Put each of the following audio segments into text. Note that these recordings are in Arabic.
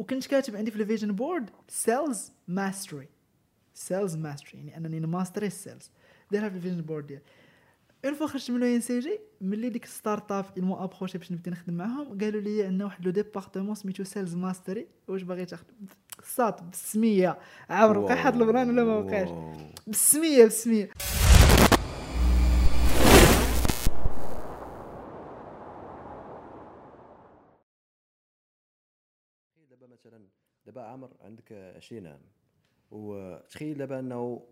وكنت كاتب عندي في الفيجن بورد سيلز ماستري يعني انني نماستري السيلز دايرها في الفيجن بورد ديالي. اون فوا خرجت من ان سي جي ملي ديك ستارت اب المو ابروشي باش نبدا نخدم معاهم قالوا لي عندنا واحد لو ديبارتمون سميتو سيلز ماستري واش باغي تاخذ صات بالسميه عامر وقع حد البران ولا ما وقعش بالسميه دابا مثلا دابا عامر عندك 20 عام وتخيل دابا انه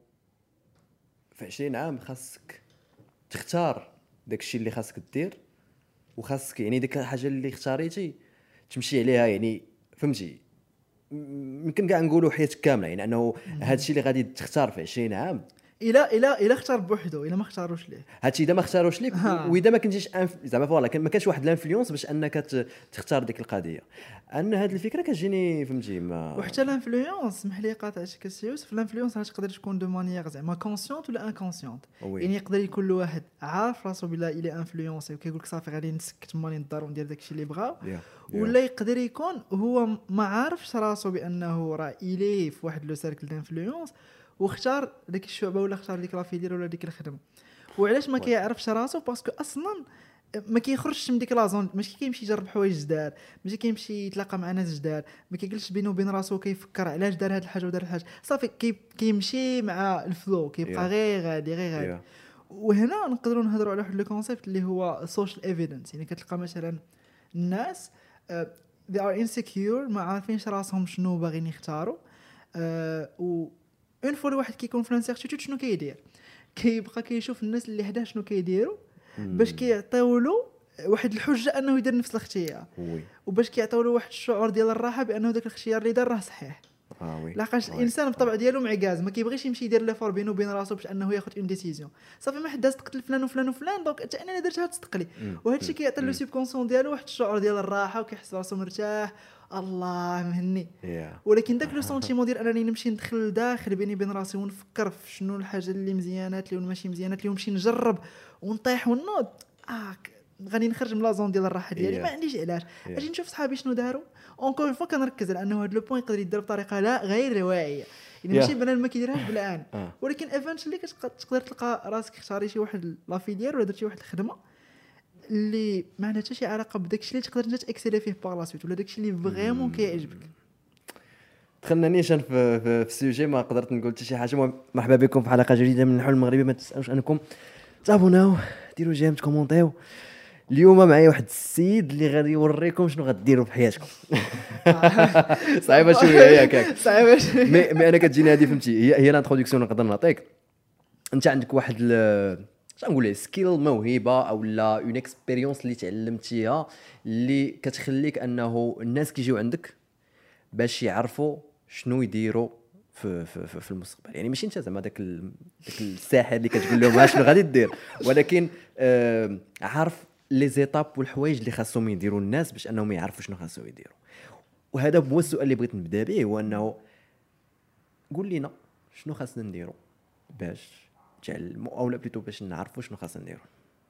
في 20 عام خاصك تختار داكشي اللي خاصك دير وخاصك يعني ديك الحاجه اللي اختاريتي تمشي عليها يعني فهمتي يمكن كاع نقولوا حياتك كامله يعني انه هادشي اللي غادي تختار في 20 عام الا اختار بوحدو الا ما اختاروش ليه هادشي اذا ما اختاروش ليك واذا ما كنتيش زعما فوالا ما كانش واحد الانفلونس باش انك تختار ديك القضيه ان هاد الفكره كتجيني فهمتي ما وحتى الانفلونس سمح لي قاطعتك السيوس الانفلونس تقدر تكون دو مانيير زعما كونسيونت ولا انكونسيونت يعني يقدر يكون له واحد عارف راسو بلا الى انفلونسي وكيقول لك صافي غادي نسكت مالي ندار وندير داكشي اللي بغاو ولا يقدر يكون هو ما عارفش راسو بانه راه الي في واحد لو سيركل دانفلونس واختار ديك الشعبه ولا اختار ديك لافيدير ولا ديك الخدمه. وعلاش ما كيعرفش راسو باسكو اصلا ما كيخرجش من ديك لازون ماشي كيمشي يجرب حوايج جداد ماشي كيمشي يتلاقى مع ناس جداد ما كيجلسش بينه وبين راسو كيفكر علاش دار هاد الحاجه ودار الحاجه صافي كيمشي مع الفلو كيبقى غير غادي وهنا نقدروا نهضروا على واحد لو كونسيبت اللي هو سوشيال ايفيدنس يعني كتلقى مثلا الناس they are insecure ما عارفينش راسهم شنو باغيين يختاروا و اون فوا الواحد كيكون في لانسيرتيتود شنو كيدير كيبقى كيشوف الناس اللي حداه شنو كيديروا باش كيعطيو له واحد الحجه انه يدير نفس الاختيار وباش كيعطيو له واحد الشعور ديال الراحه بانه داك الاختيار اللي دار راه صحيح لاقاش الانسان بطبع ديالو معكاز ما كيبغيش يمشي يدير لافور بينه وبين راسو باش انه ياخذ اون ديسيزيون صافي ما حد تقتل فلان وفلان وفلان دونك حتى انا درتها تستقلي وهذا الشيء كيعطي له سوبكونسيون ديالو واحد الشعور ديال الراحه وكيحس راسو مرتاح الله مهني ولكن داك لو سونتيمون ديال انني نمشي ندخل لداخل بيني وبين راسي ونفكر في شنو الحاجه اللي مزيانات لي وماشي مزيانات لي ونمشي نجرب ونطيح ونوض غادي نخرج من لا زون ديال الراحه ديالي ما عنديش علاش اجي نشوف صحابي شنو داروا اونكور فوا كنركز على انه هذا لو بوين يقدر يدير بطريقه لا غير واعيه يعني ماشي بنادم ما كيديرهاش بالعان ولكن ايفنتشلي كتقدر تلقى راسك اختاري شي واحد لافيليير ولا درتي واحد الخدمه اللي ما عندها حتى شي علاقه بداكشي اللي تقدر انت تاكسيلي فيه باغ لا سويت ولا داكشي اللي فريمون كيعجبك. دخلنا نيشان في السوجي ما قدرت نقول حتى شي حاجه. مرحبا بكم في حلقه جديده من الحلم المغربي. ما تنساوش انكم تابوناو ديروا جيم تكومونطيو. اليوم معايا واحد السيد اللي غادي يوريكم شنو غديروا في حياتكم. صعيبه شويه ياك صعيبه مي انا كتجيني هذه فهمتي هي الانتروداكسيون نقدر نعطيك. انت عندك واحد نقول ليه سكيل موهبه او لا اون اكسبيريونس اللي تعلمتيها اللي كتخليك انه الناس كيجيو عندك باش يعرفوا شنو يديروا في المستقبل. يعني ماشي انت زعما داك الساحر اللي كتقول لهم شنو غادي دير ولكن عارف لي زيتاب والحوايج اللي خاصهم يديروا الناس باش انهم يعرفوا شنو خاصهم يديروا. وهذا هو السؤال اللي بغيت نبدا به هو انه قول لنا شنو خاصنا نديروا باش تعلموا او لا بليتو باش نعرفوا شنو خاصنا نديروا.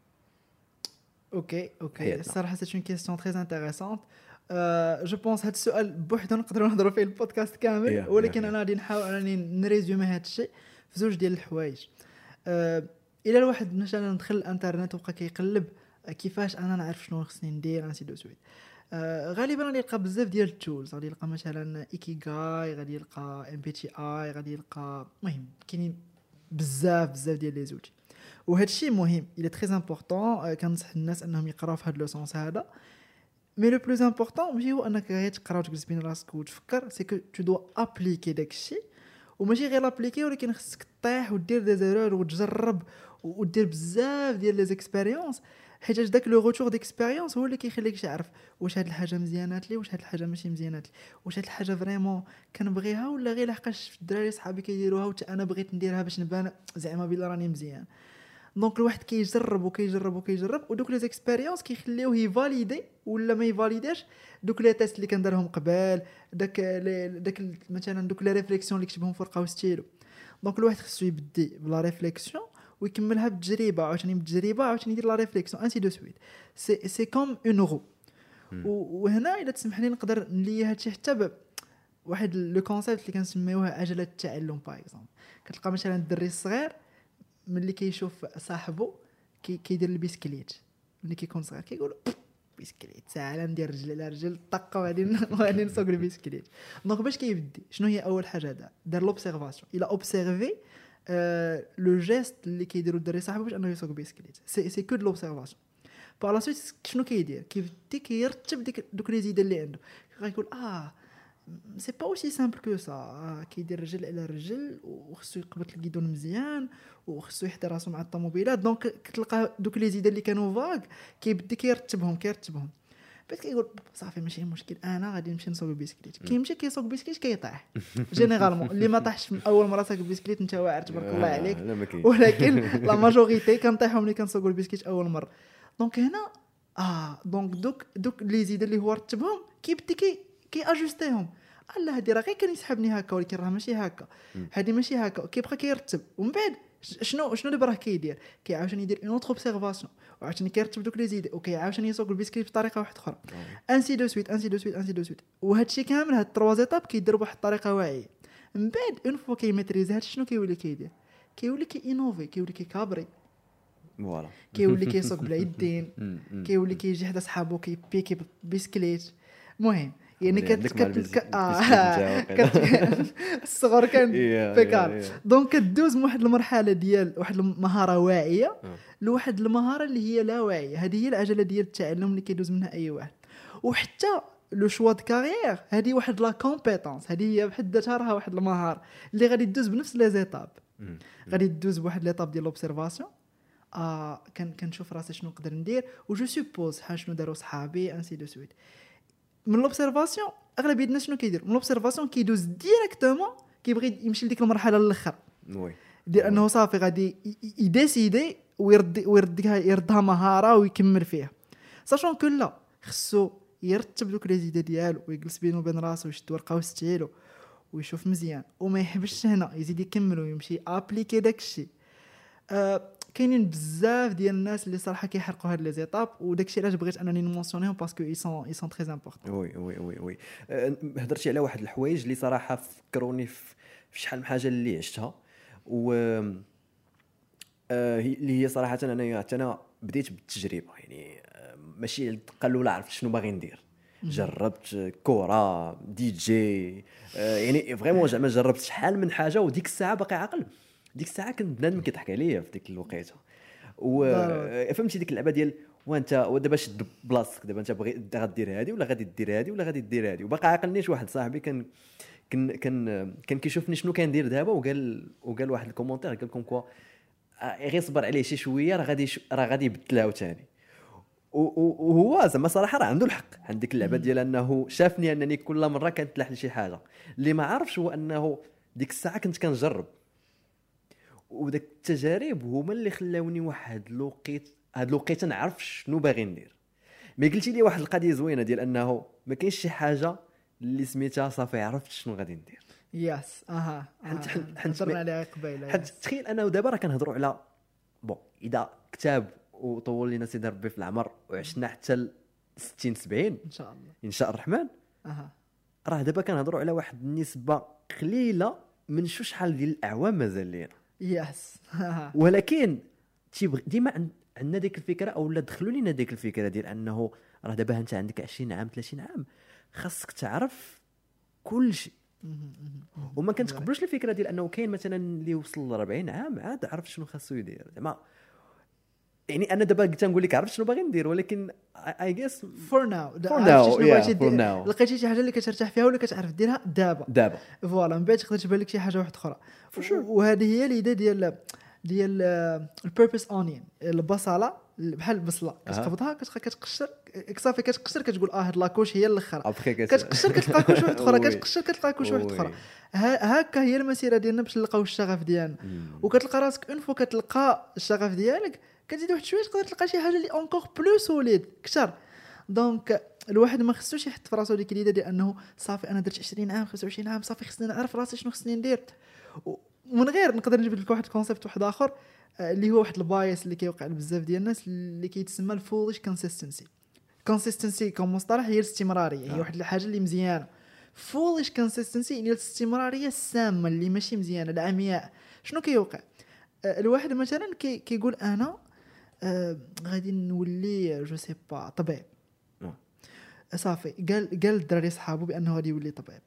اوكي الصراحه سي اون كيسيون تري انتريسانت. جو بونس هذا السؤال بوحدو نقدروا نهضروا فيه البودكاست كامل ولكن انا غادي نحاول انني نريزومي هذا الشيء في زوج ديال الحوايج. الى الواحد مثلا دخل الانترنت وبقى كيقلب كيفاش انا نعرف شنو خصني ندير انسي دو سويت، غالبا غادي يلقى بزاف ديال التولز. غادي يلقى مثلا ايكيغاي، غادي يلقى ام بي تي اي، غادي يلقى المهم كاينين بزاف ديال لي زوتي. وهذا الشيء مهم الى تري امبورطون. كنصح الناس انهم يقراو في هذا لو سونس هذا. مي لو بلوز امبورطون ماشي هو انك غير تقرا وتجلس بين راسك وتفكر، سي كو تو دو ابليكي داك الشيء. وماشي غير ابليكي ولكن خصك طيح ودير دي زيرور وتجرب ودير بزاف ديال لي زيكسبيريونس، حيت داك لو روتور ديكسبيريونس هو اللي كيخليك تعرف واش هاد الحاجه مزيانات لي واش هاد الحاجه ماشي مزيانات لي، واش هاد الحاجه فريمون كنبغيها ولا غير لحقاش الدراري صحابي كيديروها وحتى انا بغيت نديرها باش نبان زعما بلا راني مزيان. دونك الواحد كيجرب ودوك لي زيكسبيريونس كيخليوه يفاليدي ولا ما يفاليديش دوك لي تيست اللي كنديرهم قبل، داك مثلا دوك لي ريفليكسيون اللي كتبهم في ورقه وستيلو. دونك الواحد خصو يبدي بلا ريفليكسيون ويكملها بالتجربه، عاوتاني بالتجربه عاوتاني يدير لا ريفليكسيون انسي دو سويت. سي كوم اون رو. وهنا الا تسمح لي نقدر نلي هادشي حتى واحد لو كونسيبت اللي كنسميوه عجله التعلم باغ اكزومبل. كتلقى مثلا الدري الصغير ملي كيشوف صاحبه كيدير البيسكليت، ملي كيكون صغير كيقول بيسكليت ساعه ندير رجل على رجل طقه وغادي نسوق البيسكليت. دونك باش كيبدي شنو هي اول حاجه دار لوبسيرفاسيون، الى اوبسيرفي لو جيست اللي كيديرو الدري صاحبه باش انه يسوق بيسكليت، سي كو دو لوبسيرفاسيون. باغ لا سويت شنو كيدير؟ كيبدي كيرتب دوك لي زيد اللي عنده، غيقول سي با اوسي سامبل كو سا، كيدير رجل على رجل وخصو يقبط الكيدون مزيان وخصو يحضر راسو مع الطوموبيلات. دونك كتلقى دوك لي زيد اللي كانوا فاغ كيبدي كيرتبهم بس كيقول صافي ماشي مشكل انا غادي نمشي نسوق بيسكليت. كيمشي كيسوق بيسكليت كيطيح جينيرالمون. اللي ما طاحش من اول مره ساق البيسكليت انت واعر تبارك الله عليك، ولكن لا ماجوريتي كنطيحوا ملي كنسوقوا البيسكليت اول مره. دونك هنا دونك دوك لي زيد اللي هو رتبهم كيبدي كي اجوستيهم. الله هادي راه غير كان يسحبني هكا، ولكن راه ماشي هكا، هادي ماشي هكا. كيبقى كيرتب ومن بعد شنو اللي براه كيدير؟ كيعاوشني يدير اون اوتر اوبسيرفاسيون وعاوتاني كيرتب دوك لي زيد وكيعاوشني يسوق البيسكليت بطريقه واحده اخرى، انسي دو سويت. وهذا الشيء كامل هاد 3 ايتاب كيدير بواحد الطريقه واعيه. من بعد اون فوا كيميتريز هاد شنو كيولي كيدير؟ كيولي كينوفي، كيولي كيكابري، فوالا كيولي كيسوق بلا يدين، كيولي كيجي حدا صحابو كيبيكي بيسكليت. المهم يعني الصغر كان بكار. دونك كدوز من واحد المرحله ديال واحد المهاره واعيه لواحد المهاره اللي هي لا واعيه. هذه هي العجله ديال التعلم اللي كيدوز منها اي واحد. وحتى لو شوا د كارير هذه واحد لا كومبيتونس، هذه هي بحد ذاتها راه واحد المهاره اللي غادي تدوز بنفس لي زيتاب. غادي تدوز بواحد ليطاب ديال لوبسيرفاسيون، كنشوف راسي شنو نقدر ندير وجو سوبوز شنو داروا صحابي انسي دو سويت. من لوبسيرفاسيون اغلبيه الناس شنو كيدير؟ من لوبسيرفاسيون كيدوز ديريكتومون كيبغي يمشي لديك المرحله الاخر، وي دير انه صافي غادي يديسيدي يردها مهاره ويكمل فيها. ساشون كو لا خصو يرتب دوك لي زيد ديالو ويجلس بينه وبين راسو ويشد ورقه وستيلو ويشوف مزيان وما يحبش هنا، يزيد يكمل ويمشي ابليكي داكشي. كاينين بزاف ديال الناس اللي صراحه كيحرقوا هاد لي زيتاب، وداكشي علاش بغيت انني نمونسيونيهم باسكو اي سون تري امبورطون. وي هضرتي على واحد الحوايج اللي صراحه فكروني في شحال من حاجه اللي عشتها، و اللي هي صراحه انا بديت بالتجربه. يعني ماشي قالوا لا عرفت شنو باغي ندير، جربت كره دي جي، يعني فريمون زعما جربت شحال من حاجه. وديك الساعه باقي عاقل، ديك الساعه كنت بنادم كيضحك عليا في ديك الوقيته. وفهمتي ديك اللعبه ديال وانت دابا شد بلاصتك، دابا انت بغي غدير هذه ولا غادي دير هذه ولا غادي دير هذه. وباقي عاقلنيش واحد صاحبي كان كيشوفني شنو كندير دابا، وقال واحد الكومونتير قال لكم كوا غير صبر عليه شي شويه راه غادي يبدلها عاوتاني. وهو زعما صراحه راه عنده الحق عند ديك اللعبه ديال انه شافني انني كل مره كنتلاح لشي حاجه. اللي ما عارفش هو انه ديك الساعه كنت كنجرب، وداك التجارب هما اللي خلاوني واحد الوقيته نعرف شنو باغي ندير. مي قلتي لي واحد القضيه زوينه ديال انه ما كاينش شي حاجه اللي سميتها صافي عرفت شنو غادي ندير. ياس هضرنا عليها قبيله. حيت تخيل انا ودابا راه كنهضروا على اذا كتاب وطول لينا سيدي ربي في العمر وعشنا حتى 60 70 ان شاء الرحمن، راه دابا كنهضروا على واحد النسبه قليله من شحال ديال الاعوام مازال لينا. ياس ولكن ديما عندنا ديك الفكره او لا دخلوا لينا ديك الفكره ديال انه راه دابا انت عندك 20 عام 30 عام خاصك تعرف كل شيء. وما كنتقبلوش الفكره ديال انه كاين مثلا اللي وصل ل 40 عام عاد عرف شنو خاصو يدير. زعما يعني انا دابا قلت نقول لك عرفت شنو باغي ندير، ولكن اي جيس فور ناو لقيتي شي حاجه اللي كترتاح فيها ولا كتعرف ديرها دابا فوالا. من بعد تقدر تبان لك شي حاجه واحده اخرى. وهذه هي الإيديا ديال البيربس اونين، البصله بحال البصله كتقبضها كتقشر صافي كتقشر كتقول هاد لاكوش هي الاخرى، كتقشر كتلقى كوش واحد اخرى، كتقشر كتلقى كوش واحد اخرى. هكا هي المسيره ديالنا باش نلقاو الشغف ديالنا. وكتلقى راسك اون فوا كتلقى الشغف ديالك كتزيد واحد شويه تقدر تلقى شي حاجه اللي اونكور بلو سوليد كثر. دونك الواحد ما خصوش يحط في راسو ديك اليده ديال انه صافي انا درت 20 عام 25 عام صافي خصني نعرف راسي شنو خصني ندير. ومن غير نقدر نجيب لك واحد الكونسيبت واحد اخر اللي هو واحد البايس اللي كيوقع لبزاف ديال الناس اللي كيتسمى الفولش كونسيستنسي كمصطلح هي الاستمراريه. هي واحد الحاجه اللي مزيانه فوليش كونسيستنسي يعني الاستمراريه السامه اللي ماشي مزيانه العمياء. شنو كيوقع؟ الواحد مثلا كيقول انا غادي نولي جو سي با طبيب، صافي قال الدراري صحابو بانه غادي يولي طبيب،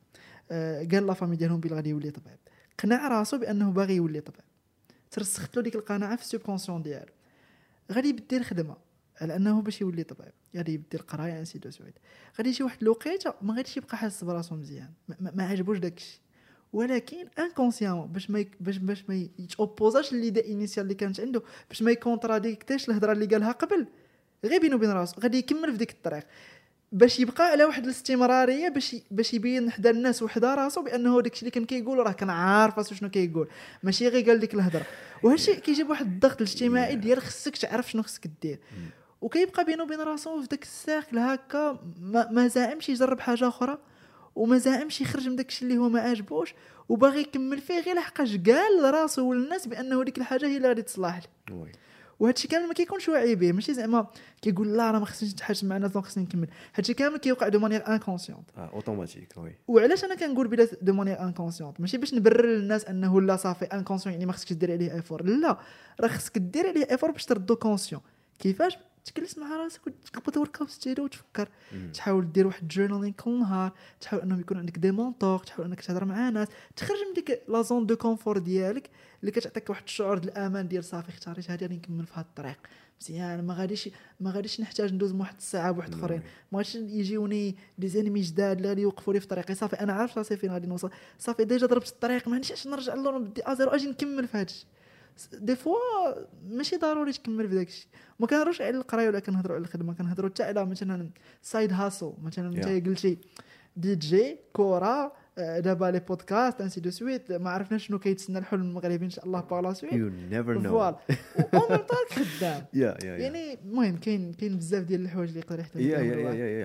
قال لا فامي ديالهم بلي غادي يولي طبيب، قنع راسو بانه باغي يولي طبيب، ترسخت له ديك القناعه في السوبكونسيون ديالو، غادي يبدل الخدمه على انه باش يولي طبيب، غادي يبدل القرايه انسي دو سويت، غادي يجي واحد الوقيته ما غاديش يبقى حاسس براسو مزيان، ما عجبوش داكشي، ولكن انكونسيامون باش ما يتوبوزاش ليدا انيسيال اللي كانت عنده، باش ما يكونتراديكتيش الهضره اللي قالها قبل، غير بينه وبين راسو غادي يكمل في ديك الطريق باش يبقى على واحد الاستمراريه، باش يبين حدا الناس وحدا راسو بانه داكشي اللي كان كيقول راه كان عارف شنو كيقول، ماشي غير قال ديك الهضره. وهذا الشيء كيجيب واحد الضغط الاجتماعي ديال خصك تعرف شنو خصك دير، وكيبقى بينه وبين راسو في داك الساكل هكا، ما زعمش يجرب حاجه اخرى، وما زعمش يخرج من داكشي اللي هو ما عاجبوش، وباغي يكمل فيه غير لحقاش قال راسو والناس بانه ديك الحاجه هي اللي غادي تصلح له. وهادشي كامل ما كيكونش واعي به، ماشي زعما كيقول لا راه ما خصنيش نتحاش مع الناس، خصني نكمل، هادشي كامل كيوقع دو مانيير انكونسيونت اوتوماتيك. وي وعلاش انا كنقول بلا دو مانيير انكونسيونت؟ ماشي باش نبرر للناس انه لا صافي انكونسيون يعني ما خصكش دير عليه ايفور، لا راه خصك دير عليه ايفور باش تردو كونسيون. كيفاش؟ تجلس مع راسك وتقبض ورقه وستيلو وتفكر، تحاول دير واحد جورنالينغ كل نهار، تحاول انه يكون عندك دي مونطور، تحاول انك تهضر مع ناس، تخرج من ديك لا زون دو كونفور ديالك اللي كتعطيك واحد الشعور ديال الامان ديال صافي اختاريت هذه غادي نكمل في هذا الطريق مزيان، ما غاديش نحتاج ندوز واحد الساعه بواحد اخرين، ما غاديش يجيوني دي زانيمي جداد اللي غادي يوقفوا لي في طريقي، صافي انا عارف راسي فين غادي نوصل، صافي ديجا ضربت الطريق ما عنديش نرجع للور نبدي ازيرو اجي نكمل في هادشي. دي فوا ماشي ضروري تكمل في داكشي، ما كنهضروش على القرايه ولا كنهضروا على الخدمه، كنهضروا حتى على مثلا سايد هاسل، مثلا انت قلتي دي جي كوره دابا لي بودكاست انسي دو سويت، ما عرفناش شنو كيتسنى الحلم المغربي ان شاء الله بالا سويت يو نيفر نو فوالا ومن طاق خدام يعني المهم كاين بزاف ديال الحوايج اللي يقدر يحتاج يا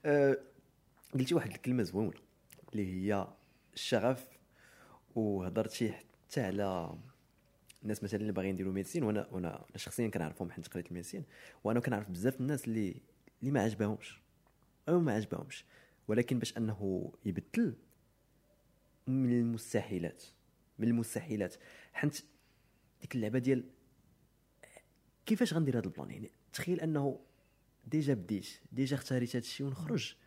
قلتي واحد الكلمه زوينه اللي هي الشغف، وهضرتي حتى على الناس مثلا اللي باغيين يديروا ميديسين، وانا شخصيا كنعرفهم حيت قريت الميديسين، وانا كنعرف بزاف الناس اللي ما عجبهمش او ما عجبهمش، ولكن باش انه يبدل من المستحيلات حيت ديك اللعبه ديال كيفاش غندير هذا البلان. يعني تخيل انه ديجا بديت ديجا اختاريت هذا الشيء ونخرج،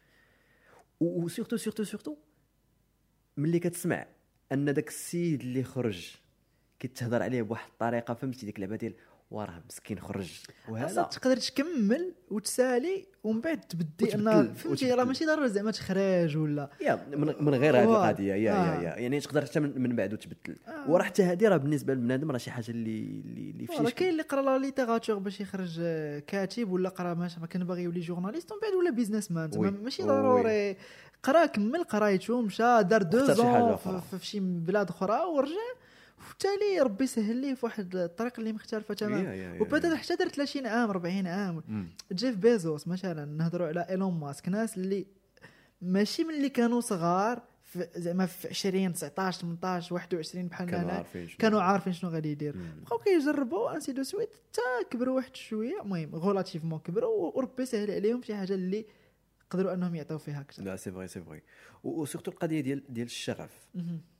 وسورتو ملي كتسمع ان داك السيد اللي خرج كتهضر عليه بواحد الطريقه، فهمتي ديك اللعبه ديال وراه مسكين خرج، وهذا تقدر تكمل وتسالي ومن بعد تبدي ان فهمتي راه ماشي ضروري زعما تخرج ولا من غير هذه القضيه يعني تقدر حتى من بعد وتبدل. وراه حتى هذه راه بالنسبه للبنادم راه شي حاجه اللي في شي كاين اللي قرا لا ليتيراتور باش يخرج كاتب، ولا قرا ما كان باغي يولي جورناليست ومن بعد ولا بيزنس مان، ماشي ضروري قرا كمل قرايته مشى دار 2 زون في شي بلاد اخرى ورجع، وبالتالي ربي سهل ليه في واحد الطريق اللي مختلفه تماما، وبدا حتى دار 30 عام 40 عام. جيف بيزوس مثلا، نهضروا على ايلون ماسك، ناس اللي ماشي من اللي كانوا صغار زعما في 20 19 18 21 بحالنا كانوا عارفين شنو غادي يدير، بقاو كيجربوا انسي دو سويت حتى كبروا واحد شويه، المهم غولاتيفمون كبروا وربي سهل عليهم شي حاجه اللي قدروا انهم يعطيو فيها اكثر. لا سي فري وسورتو القضيه ديال الشغف.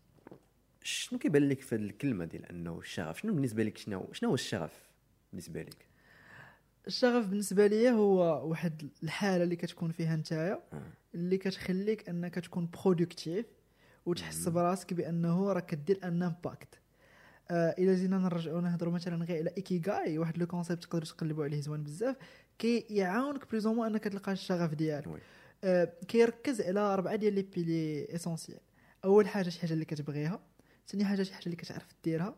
شنو كيبان لك في الكلمه ديال انه الشغف؟ شنو بالنسبه لك؟ شنو هو الشغف بالنسبه لك؟ الشغف بالنسبه لي هو واحد الحاله اللي كتكون فيها نتايا اللي كتخليك انك تكون برودكتيف وتحس براسك بانه راك كدير ان امباكت. الى جينا نرجعوا نهضروا مثلا غير على ايكيغاي، واحد لو كونسيبت تقدروا تقلبوا عليه زوين بزاف، كيعاونك بليزومون انك تلقى الشغف ديالك. كيركز على 4 ديال لي بيلي اسونسيال. اول حاجه شي حاجه اللي كتبغيها، ثاني حاجه شي حاجه اللي كتعرف ديرها،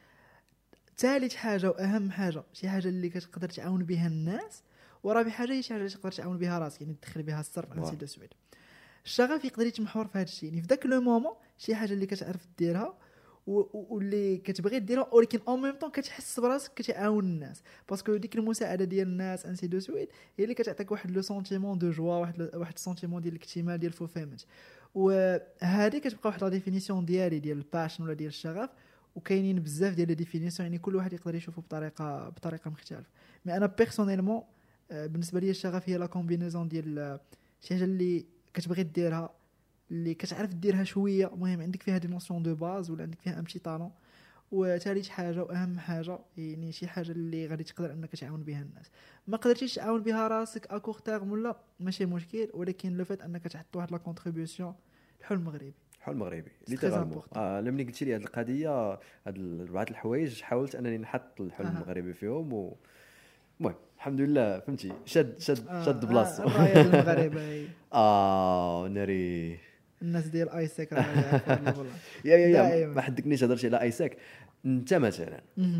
ثالث حاجه واهم حاجه شي حاجه اللي كتقدر تعاون بها الناس، ورابع حاجه هي شي حاجه اللي تقدر تعاون بها راسك، يعني تدخل بها السر على سيده سويد. الشغف يقدر يتمحور في هذا الشيء، يعني في ذاك لو مومون شي حاجه اللي كتعرف ديرها واللي كتبغي ديرها، ولكن او ميم طون كتحس براسك كتعاون الناس، باسكو ديك المساعده ديال الناس انسي دو سويد هي اللي كتعطيك واحد لو سونتيمون دو جوا، واحد سونتيمون ديال الاكتمال ديال الفولفيلمنت. وهذه كتبقى واحد لا ديفينيسيون ديال الباشن ولا ديال الشغف، وكاينين بزاف ديال لي ديفينيسيون، يعني كل واحد يقدر يشوفه بطريقه مختلفه. مي انا بيرسونيلمون بالنسبه لي الشغف هي لا كومبينيزون ديال شي حاجه اللي كتبغي ديرها اللي كتعرف ديرها شويه، المهم عندك فيها دي نوسيون دو باز ولا عندك فيها ام بتي طالون. وثالث حاجه واهم حاجه يعني شي حاجه اللي غادي تقدر انك تعاون بها الناس. ما قدرتيش تعاون بها راسك اكور تيرم ولا ماشي مشكل، ولكن لو فات انك تحط واحد لا كونتريبيوشن الحلم المغربي. الحلم المغربي ليترالمون. لمني قلتي لي هذه القضيه، هاد بعض الحوايج حاولت انني نحط الحلم المغربي فيهم المهم الحمد لله فهمتي شد بلاصتو. الرايه المغربيه ناري الناس ديال ايساك راه والله يا ما حدكنيش هضرتي على ايساك. انت مثلا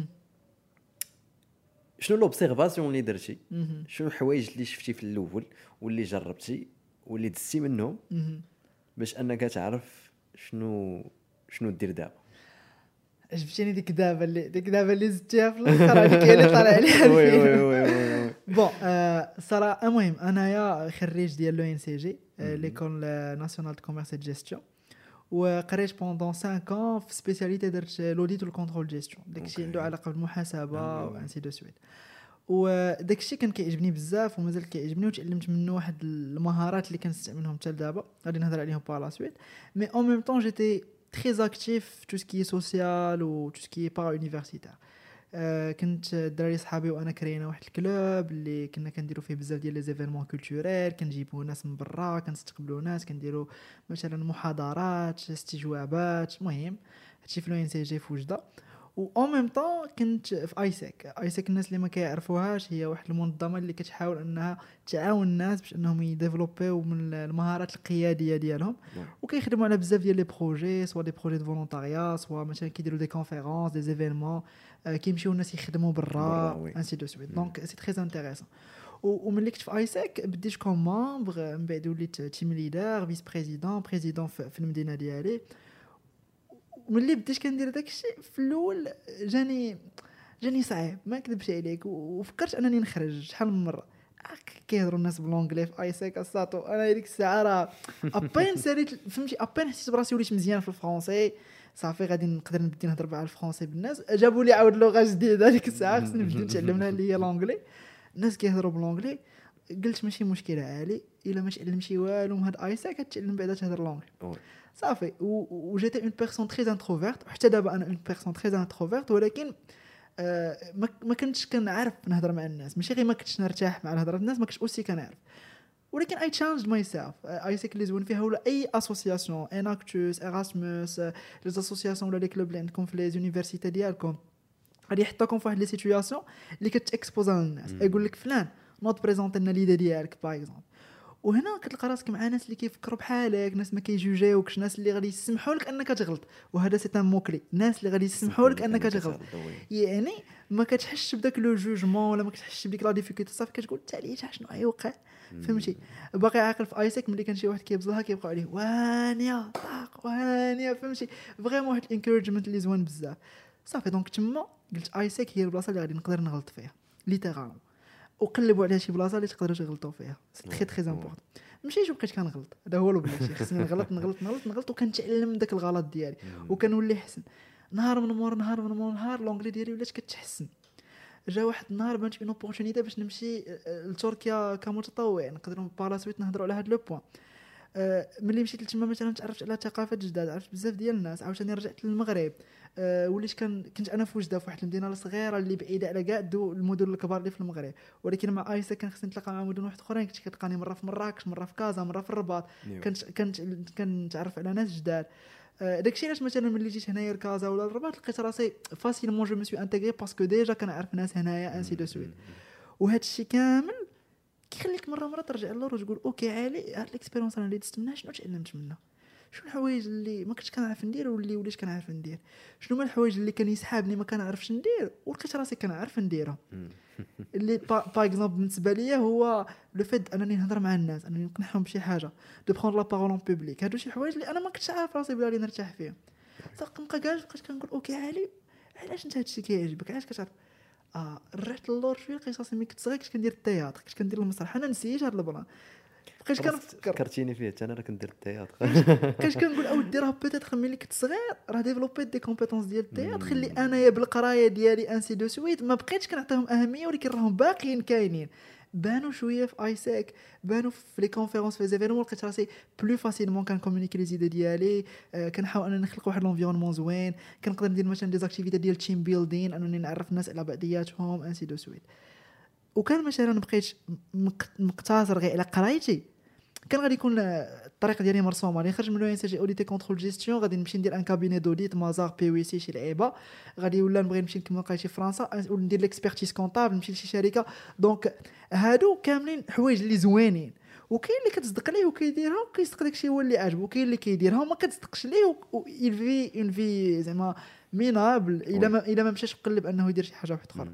شنو لوبسيرفاسيون اللي درتي، شنو الحوايج اللي شفتي في الاول واللي جربتي واللي دزتي منهم باش انك تعرف شنو دير دابا؟ عجبتني ديك دابا اللي زدتيها في الاخر، هذيك هي اللي طالع عليها. وي بون صراحه المهم انايا خريج ديال لو ان سي جي ليكول ناسيونال دو كوميرس اي جيستيون، وقريت بوندون 5 ans في سبيسياليتي درت لوديت والكونترول جيستيون، داكشي عنده علاقه بالمحاسبه وانسي دو سويت. وداكشي كان كيعجبني بزاف ومازال كيعجبني، وتعلمت منه واحد المهارات اللي كنستعملهم حتى لدابا غادي نهضر عليهم بالا سويت. مي اون ميم طون جيتي très actif tout ce qui est social ou tout ce qui est para-universitaire. كنت الدراري صحابي وانا كرينا واحد الكلوب اللي كنا كنديروا فيه بزاف ديال لي زيفينمون كولتوريل، كنجيبوا ناس من برا، كنستقبلوا ناس، كنديروا مثلا محاضرات، استجوابات، المهم هادشي في لو ان سي جي في وجده. و اون ميم طون كنت في ايساك. الناس اللي ما كيعرفوهاش هي واحد المنظمه اللي كتحاول انها تعاون الناس باش انهم يديفلوبيو من المهارات القياديه ديالهم، وكيخدموا على بزاف ديال لي بروجي، سوا دي بروجي دو فولونتاريا، سوا مثلا كيديروا دي كونفيرونس، دي زيفينمون، كيمشيو الناس يخدموا برا انسي دو سويت. دونك سي تري انتريسون. وملي كنت في ايساك بديت كوم مامبر، من بعد وليت تيم ليدر، فيس بريزيدون في المدينه ديالي. وملي بديت كندير داكشي في الاول جاني صعيب، ما نكذبش عليك، وفكرت انني نخرج شحال من مره. كيهضروا الناس بالانجلي في ايساك الساطو، انا ديك الساعه راه ابين ساليت فهمتي، ابين حسيت براسي وليت مزيان في الفرونسي، صافي غادي نقدر نبدا نهضر مع الفرونسي بالناس. جابوا لي عاود لغه جديده ديك الساعه خصني نبدا نتعلمها اللي هي الانجلي. الناس كيهضروا بالانجلي، قلت ماشي مشكله عالي الا ما تعلمتي والو من هاد ايساك كتعلم بعدا تهضر الانجلي صافي. وجيت اون بيرسون تري انتروفيرت، وحتى دابا انا اون بيرسون تري انتروفيرت، ولكن ما كنتش كنعرف نهضر مع الناس، ماشي غير ما كنتش نرتاح مع الهضره الناس، ما كنتش اوسي كنعرف، ولكن اي تشالنجد ماي سيلف. ايساك اللي زوين فيها ولا اي اسوسياسيون، اناكتوس، اراسموس، لي اسوسياسيون ولا لي كلوب اللي عندكم في لي زونيفرسيتي ديالكم، غادي يحطوكم في واحد لي سيتوياسيون اللي كتاكسبوزا للناس، يقول لك فلان نوض بريزونطي لنا ليدا ديالك باغ اكزومبل. وهنا كتلقى راسك مع ناس اللي كيفكروا بحالك، ناس ما كيجوجيوكش، ناس اللي غادي يسمحوا لك انك تغلط، وهذا سي ان موكلي، ناس اللي غادي يسمحوا لك انك تغلط. يعني ما كتحسش بداك لو جوجمون ولا ما كتحسش بديك لا ديفيكولتي، صافي كتقول حتى ليه شنو غيوقع، فهمتي. باقي عاقل في ايساك ملي كان شي واحد كيبزلها كيبقاو عليه وانيا طاق وانيا، فهمتي، فريمون واحد الانكوريجمنت اللي زوين بزاف. صافي دونك تما قلت ايساك هي البلاصه اللي غادي نقدر نغلط فيها ليترالمون، وقلبوا عليها شي بلاصه اللي تقدروا تغلطوا فيها، سي تري تري امبورطون. ماشي بقيت كنغلط، هذا هو البلاتي، خصني نغلط وكنتعلم من داك الغلط ديالي وكنولي احسن. نهار من نهار لونغلي ديالي ولات كتحسن. جا واحد النهار بانت اون اوبورتونيتي باش نمشي لتركيا كمتطوع، نقدروا بالا سويت نهضروا على هذا لو بوين. ملي مشيت لتما مثلا تعرفت على ثقافات جداد، عرفت بزاف ديال الناس، عاوتاني رجعت للمغرب. وليت كنت انا في وجده، في واحد المدينه صغيره اللي بعيده على كاع المدن الكبار اللي في المغرب، ولكن مع ايسا كان خصني نتلاقى مع مدن واحد اخرين، كنت كتلقاني مره في مراكش، مره في كازا، مره في الرباط، كنتعرف على ناس جداد. داكشي علاش مثلا ملي جيت هنايا لكازا ولا الرباط لقيت راسي فاسيلمون جو مسوي انتغري باسكو ديجا كنعرف ناس هنايا انسي دو سويت. وهذا الشيء كامل كيخليك مره ترجع للور وتقول اوكي عالي، هاد الاكسبيريونس انا اللي دزت منها شنو تعلمت منها، شنو الحوايج اللي ما كنتش كنعرف ندير واللي وليت كنعرف ندير، شنو هما الحوايج اللي كان يسحابني ما كنعرفش ندير ولقيت راسي كنعرف نديرها. اللي باغ اكزومبل بالنسبه ليا هو لو فيت انني نهضر مع الناس، انني نقنعهم بشي حاجه، دو بروندر لا بارول اون بوبليك، هادو شي حوايج اللي انا ما كنتش عارف راسي بلا نرتاح فيهم. نبقى كاع بقيت كنقول اوكي عالي، علاش انت هادشي كيعجبك، علاش كتعرف. رحت للور شويه لقيت راسي ملي كنت صغير كنت كندير التياتر، كنت كندير المسرح، انا نسيت هاد البلان، بقيت كنفكر فكرتيني فيه حتى انا راه كندير التياتر. كاش كنقول اودي راه بيتيتر ملي كنت صغير راه ديفلوبيت دي كومبيتونس ديال التياتر، خلي انايا بالقرايه ديالي انسي دو سويت ما بقيتش كنعطيهم اهميه، ولكن راهم باقيين كاينين. بانوا شويه في ايساك بانوا في لي كونفيرونس في زيفيرمون لقيت راسي بلو فاسيلمون كنكومونيكي لي زيدي ديالي كنحاول انني نخلق واحد لونفيرونمون زوين كنقدر ندير مثلا دي زاكتيفيتي ديال تيم بيلدين انني نعرف الناس على بعضياتهم انسي دو سويت وكان مثلا بقيت مقتصر غير على قرايتي كان غادي يكون الطريق ديالي مرسومه غادي نخرج من لو ان سي جي اوديتي كونترول جيستيون غادي نمشي ندير ان كابيني دوديت مازار بي وي سي شي لعيبه غادي ولا نبغي نمشي نكمل قرايتي في فرنسا وندير ليكسبيرتيز كونطابل نمشي لشي شركه دونك هادو كاملين حوايج اللي زوينين وكاين اللي كتصدق ليه وكيديرها وكيصدق داكشي هو اللي عاجبو وكاين اللي كيديرها وما كتصدقش ليه ويلفي اون في زعما مينابل الا ما مشاش مقلب انه يدير شي حاجه واحده اخرى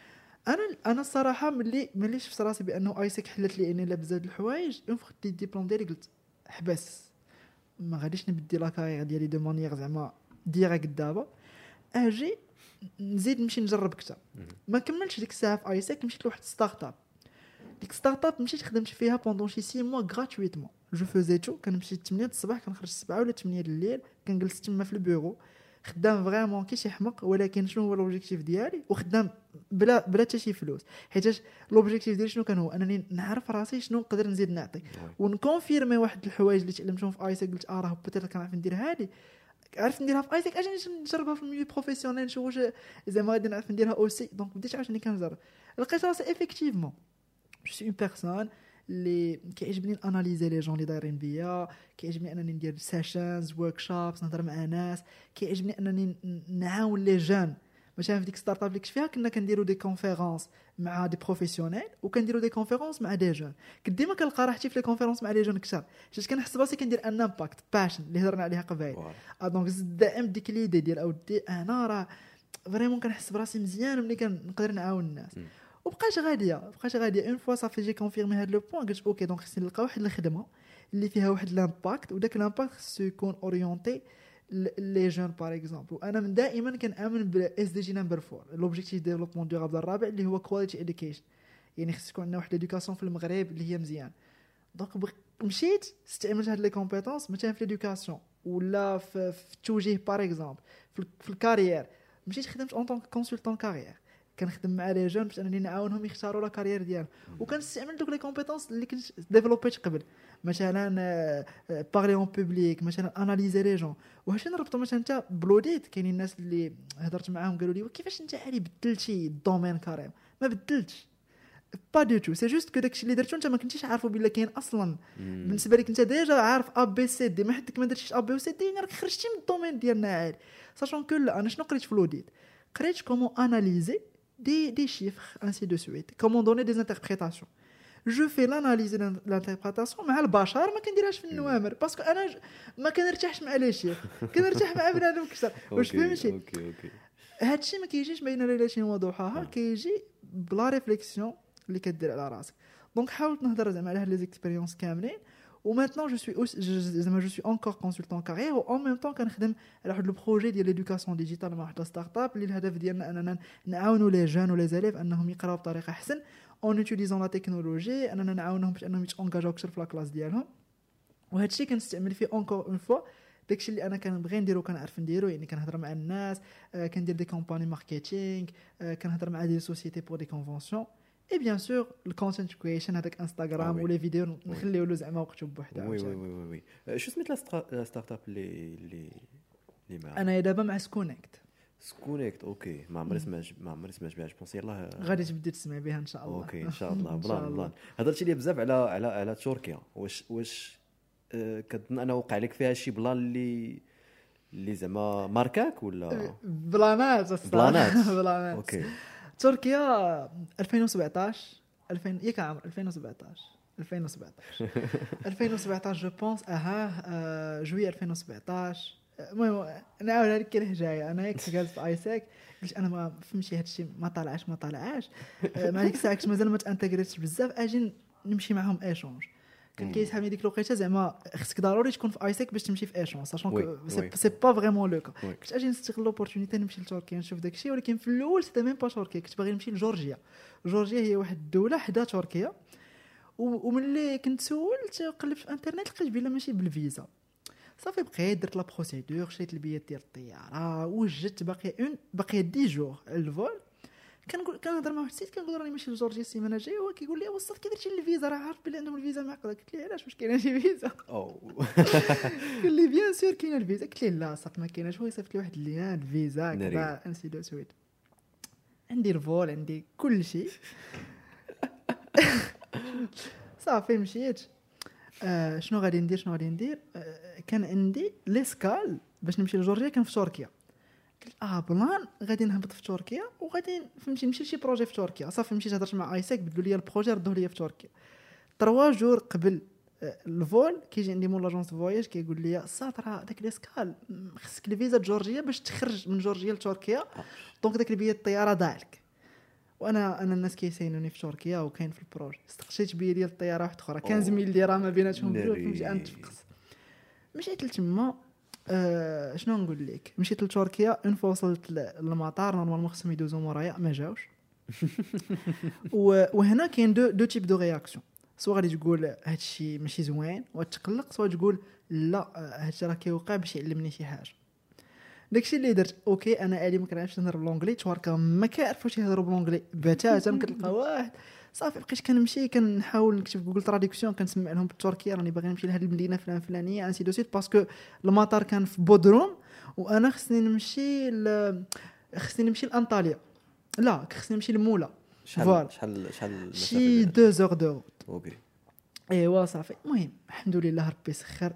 انا الصراحه ملي شفت راسي بانه ايسك حلت لي اني لا بزاف د الحوايج اون فوا خديت الدبلوم ديالي قلت حبس ما غاديش نبدي لا كارير ديالي دو مانيير زعما ديريكت دابا اجي نزيد نمشي نجرب اكثر ما كملتش ديك الساعه في ايسك مشيت لواحد ستارت اب ديك ستارت اب مشيت خدمت فيها بوندون شي 6 موا غراتويتمون جو فوزي تو كنمشي 8 الصباح كنخرج 7 ولا 8 الليل كنجلس تما في البيرو خدام فريمون كي شي حمق ولكن شنو هو لوبجيكتيف ديالي وخدام بلا حتى شي فلوس حيت لوبجيكتيف ديالي شنو كان هو انني نعرف راسي شنو نقدر نزيد نعطي ونكونفيرمي واحد الحوايج اللي تعلمتهم في ايسك قلت راه بيتيت كنعرف ندير هذه عرفت نديرها في ايسك اجي نجربها في الميو بروفيسيونيل نشوف واش زعما غادي نعرف نديرها اوسي دونك بديت عاوتاني كنجرب لقيت راسي افيكتيفمون جو سي اون بيرسون اللي كيعجبني اناليزي لي جون اللي دايرين بيا كيعجبني انني ندير سيشنز وركشوبس نهضر مع ناس كيعجبني انني نعاون لي جون مثلا في ديك ستارت اب اللي كنت فيها كنا كنديروا دي كونفيرونس مع دي بروفيسيونيل وكنديروا دي كونفيرونس مع دي جون كنت ديما كنلقى راحتي في لي كونفيرونس مع لي جون كثر حيت كنحس راسي كندير ان امباكت باشن اللي هضرنا عليها قبيل دونك زدت دائم ديك ليدي ديال اودي انا راه فريمون كنحس براسي مزيان ملي كنقدر نعاون الناس وبقاش غاديه اون فوا صافي جي كونفيرمي هذا لو بوين قلت اوكي دونك خصني نلقى واحد الخدمه اللي فيها واحد لامباكت وداك لامباكت خصو يكون اورينتي لي جون باغ اكزومبل وانا من دائما كنامن بالاس دي جي نمبر 4 لوبجيكتيف ديفلوبمون دورابل الرابع اللي هو كواليتي اديوكيشن يعني خص يكون عندنا واحد الادوكاسيون في المغرب اللي هي مزيان دونك مشيت استعملت هاد لي كومبيتونس مثلا في الادوكاسيون ولا في التوجيه باغ اكزومبل في الكارير مشيت خدمت اون طونك كونسلتون كارير كنخدم مع لي جون باش انني نعاونهم يختاروا لا كارير ديالهم وكنستعمل دوك لي كومبيتونس اللي كنت ديفلوبيت قبل مثلا بارلي اون بوبليك مثلا اناليزي لي جون وهادشي نربطو مثلا انت بلوديت كاينين الناس اللي هضرت معاهم قالوا لي كيفاش انت عالي بدلتي الدومين كاريم ما بدلتش با دو تو سي جوست كو داكشي اللي درتو انت ما كنتيش عارفو بلا كاين اصلا بالنسبه لك انت ديجا عارف ا بي سي دي ما حدك ما درتيش ا بي سي دي راك خرجتي من الدومين ديالنا عالي ساشون كو انا شنو قريت في لوديت قريت كومون اناليزي des chiffres, ainsi de suite. Comment donner des interprétations. Je fais l'analyse de l'interprétation مع البشر ما كنديرهاش في النوامر باسكو انا ما كنرتاحش مع لي شيف كنرتاح مع بنادم اكثر واش فهمتي هادشي ما كيجيش بين ليلتين وضحاها كيجي بلا ريفليكسيون اللي كدير على راسك دونك حاولت نهضر زعما على هاد لي اكسبيريونس كاملين وماتنون je suis encore consultant carrière و en même temps كنخدم على واحد لو بروجي ديال ليدوكاسيون ديجيتال مع واحد ستارت اب اللي الهدف ديالنا اننا نعاونوا لي جون و لي زاليف انهم يقراو بطريقه احسن اون اوتيليزون لا تكنولوجي اننا نعاونهم باش انهم يتونجاجاو اكثر في لا كلاس ديالهم وهذا الشيء كنستعمل فيه اونكور اون فوا داكشي اللي انا كنبغي نديرو كنعرف نديرو يعني كنهضر مع الناس كندير دي كومباني ماركتينغ كنهضر مع دي سوسيتي بور دي كونفونسيون اي بيان سور الكونتنت كرييشن هذاك انستغرام ولا فيديو نخليو له زعما وقته بوحده وي شو سميت لا ستارت اب اللي معاك انا دابا مع سكونيكت اوكي ما عمري سمعت بها جوبونس يلاه غادي تبدي تسمع بها ان شاء الله اوكي ان شاء الله بلان هضرتي لي بزاف على تركيا واش كتظن انا وقع لك فيها شي بلان اللي زعما ماركاك ولا بلانات اوكي تركيا 2017 ياك عام 2017 جو بونس جوي 2017 المهم نعاود هذيك الحجايه انا كنت جالس في ايساك قلت انا ما فهمتش هادشي ما طالعاش مع ديك الساعه كنت مازال ما تانتيغريتش بزاف اجي نمشي معهم ايشونج كان كيسحابني ديك الوقيته زعما خصك ضروري تكون في ايساك باش تمشي في ايشونج ساشون سي با فريمون لو كا كنت اجي نستغل لوبورتونيتي نمشي لتركيا نشوف داكشي ولكن في الاول سيتي ميم با تركيا كنت باغي نمشي لجورجيا هي واحد الدوله حدا تركيا وملي كنت سولت قلبت في الانترنت لقيت بلا ماشي بالفيزا صافي بقيت درت لا بروسيدور شريت البيات ديال الطياره وجدت باقي 10 جور الفول كنهضر مع واحد السيد كنقول راني ماشي لجورجيا السيمانه الجايه، هو كيقول لي وصلت كي درتي الفيزا راه عارف بلي عندهم الفيزا معقده. قلت لي علاش واش كاينه شي فيزا؟ قال لي بيان سور كاينه الفيزا. قلت ليه لا صافي ما كايناش. هو يصيفط لي واحد اللين الفيزا كذا انسي دو سويت. عندي الفول عندي كل شيء. صافي مشيت. شنو غادي ندير كان عندي ليسكال باش نمشي لجورجيا كان في تركيا. قلت بلان غادي نهبط في تركيا وغادي فهمتي نمشي لشي بروجي في تركيا. صافي مشيت هضرت مع ايساك بدلوا لي البروجي ردوه لي في تركيا. 3 جور قبل الفول كيجي عندي مول لاجونس فواياج كيقول لي راه داك ليسكال خصك الفيزا جورجيا باش تخرج من جورجيا لتركيا، دونك داك البيت الطياره ضاع لك. وانا الناس كيساينوني في تركيا وكاين في البروجي. استقشيت بيه ديال الطياره واحده اخرى 15000 درهم ما بيناتهم بجوج. فهمتي نتفقس. مشيت لتما. شنو نقول لك مشيت لتركيا. اون فوا وصلت للمطار نورمالمون خصهم يدوزو مورايا ما جاوش. وهنا كاين دو تيب دو رياكسيون. سواء غادي تقول هادشي ماشي زوين وتقلق، سواء تقول لا هادشي راه كيوقع باش يعلمني شي حاجه. داكشي اللي درت اوكي. انا الي ما كنعرفش نهضر بالانجلي، توركا ما كيعرفوش يهضروا بالانجلي بتاتا. كتلقى واحد صافي بقيت كنمشي كنحاول نكتب جوجل تراديكسيون كنسمع لهم بالتركيه راني باغي نمشي لهاد المدينه فلانيه انسي دو سيت، باسكو المطار كان في بودروم وانا خصني نمشي لانطاليا. لا خصني نمشي لمولا. شحال شي 2 زور دو. اوكي ايوا صافي. المهم الحمد لله ربي سخر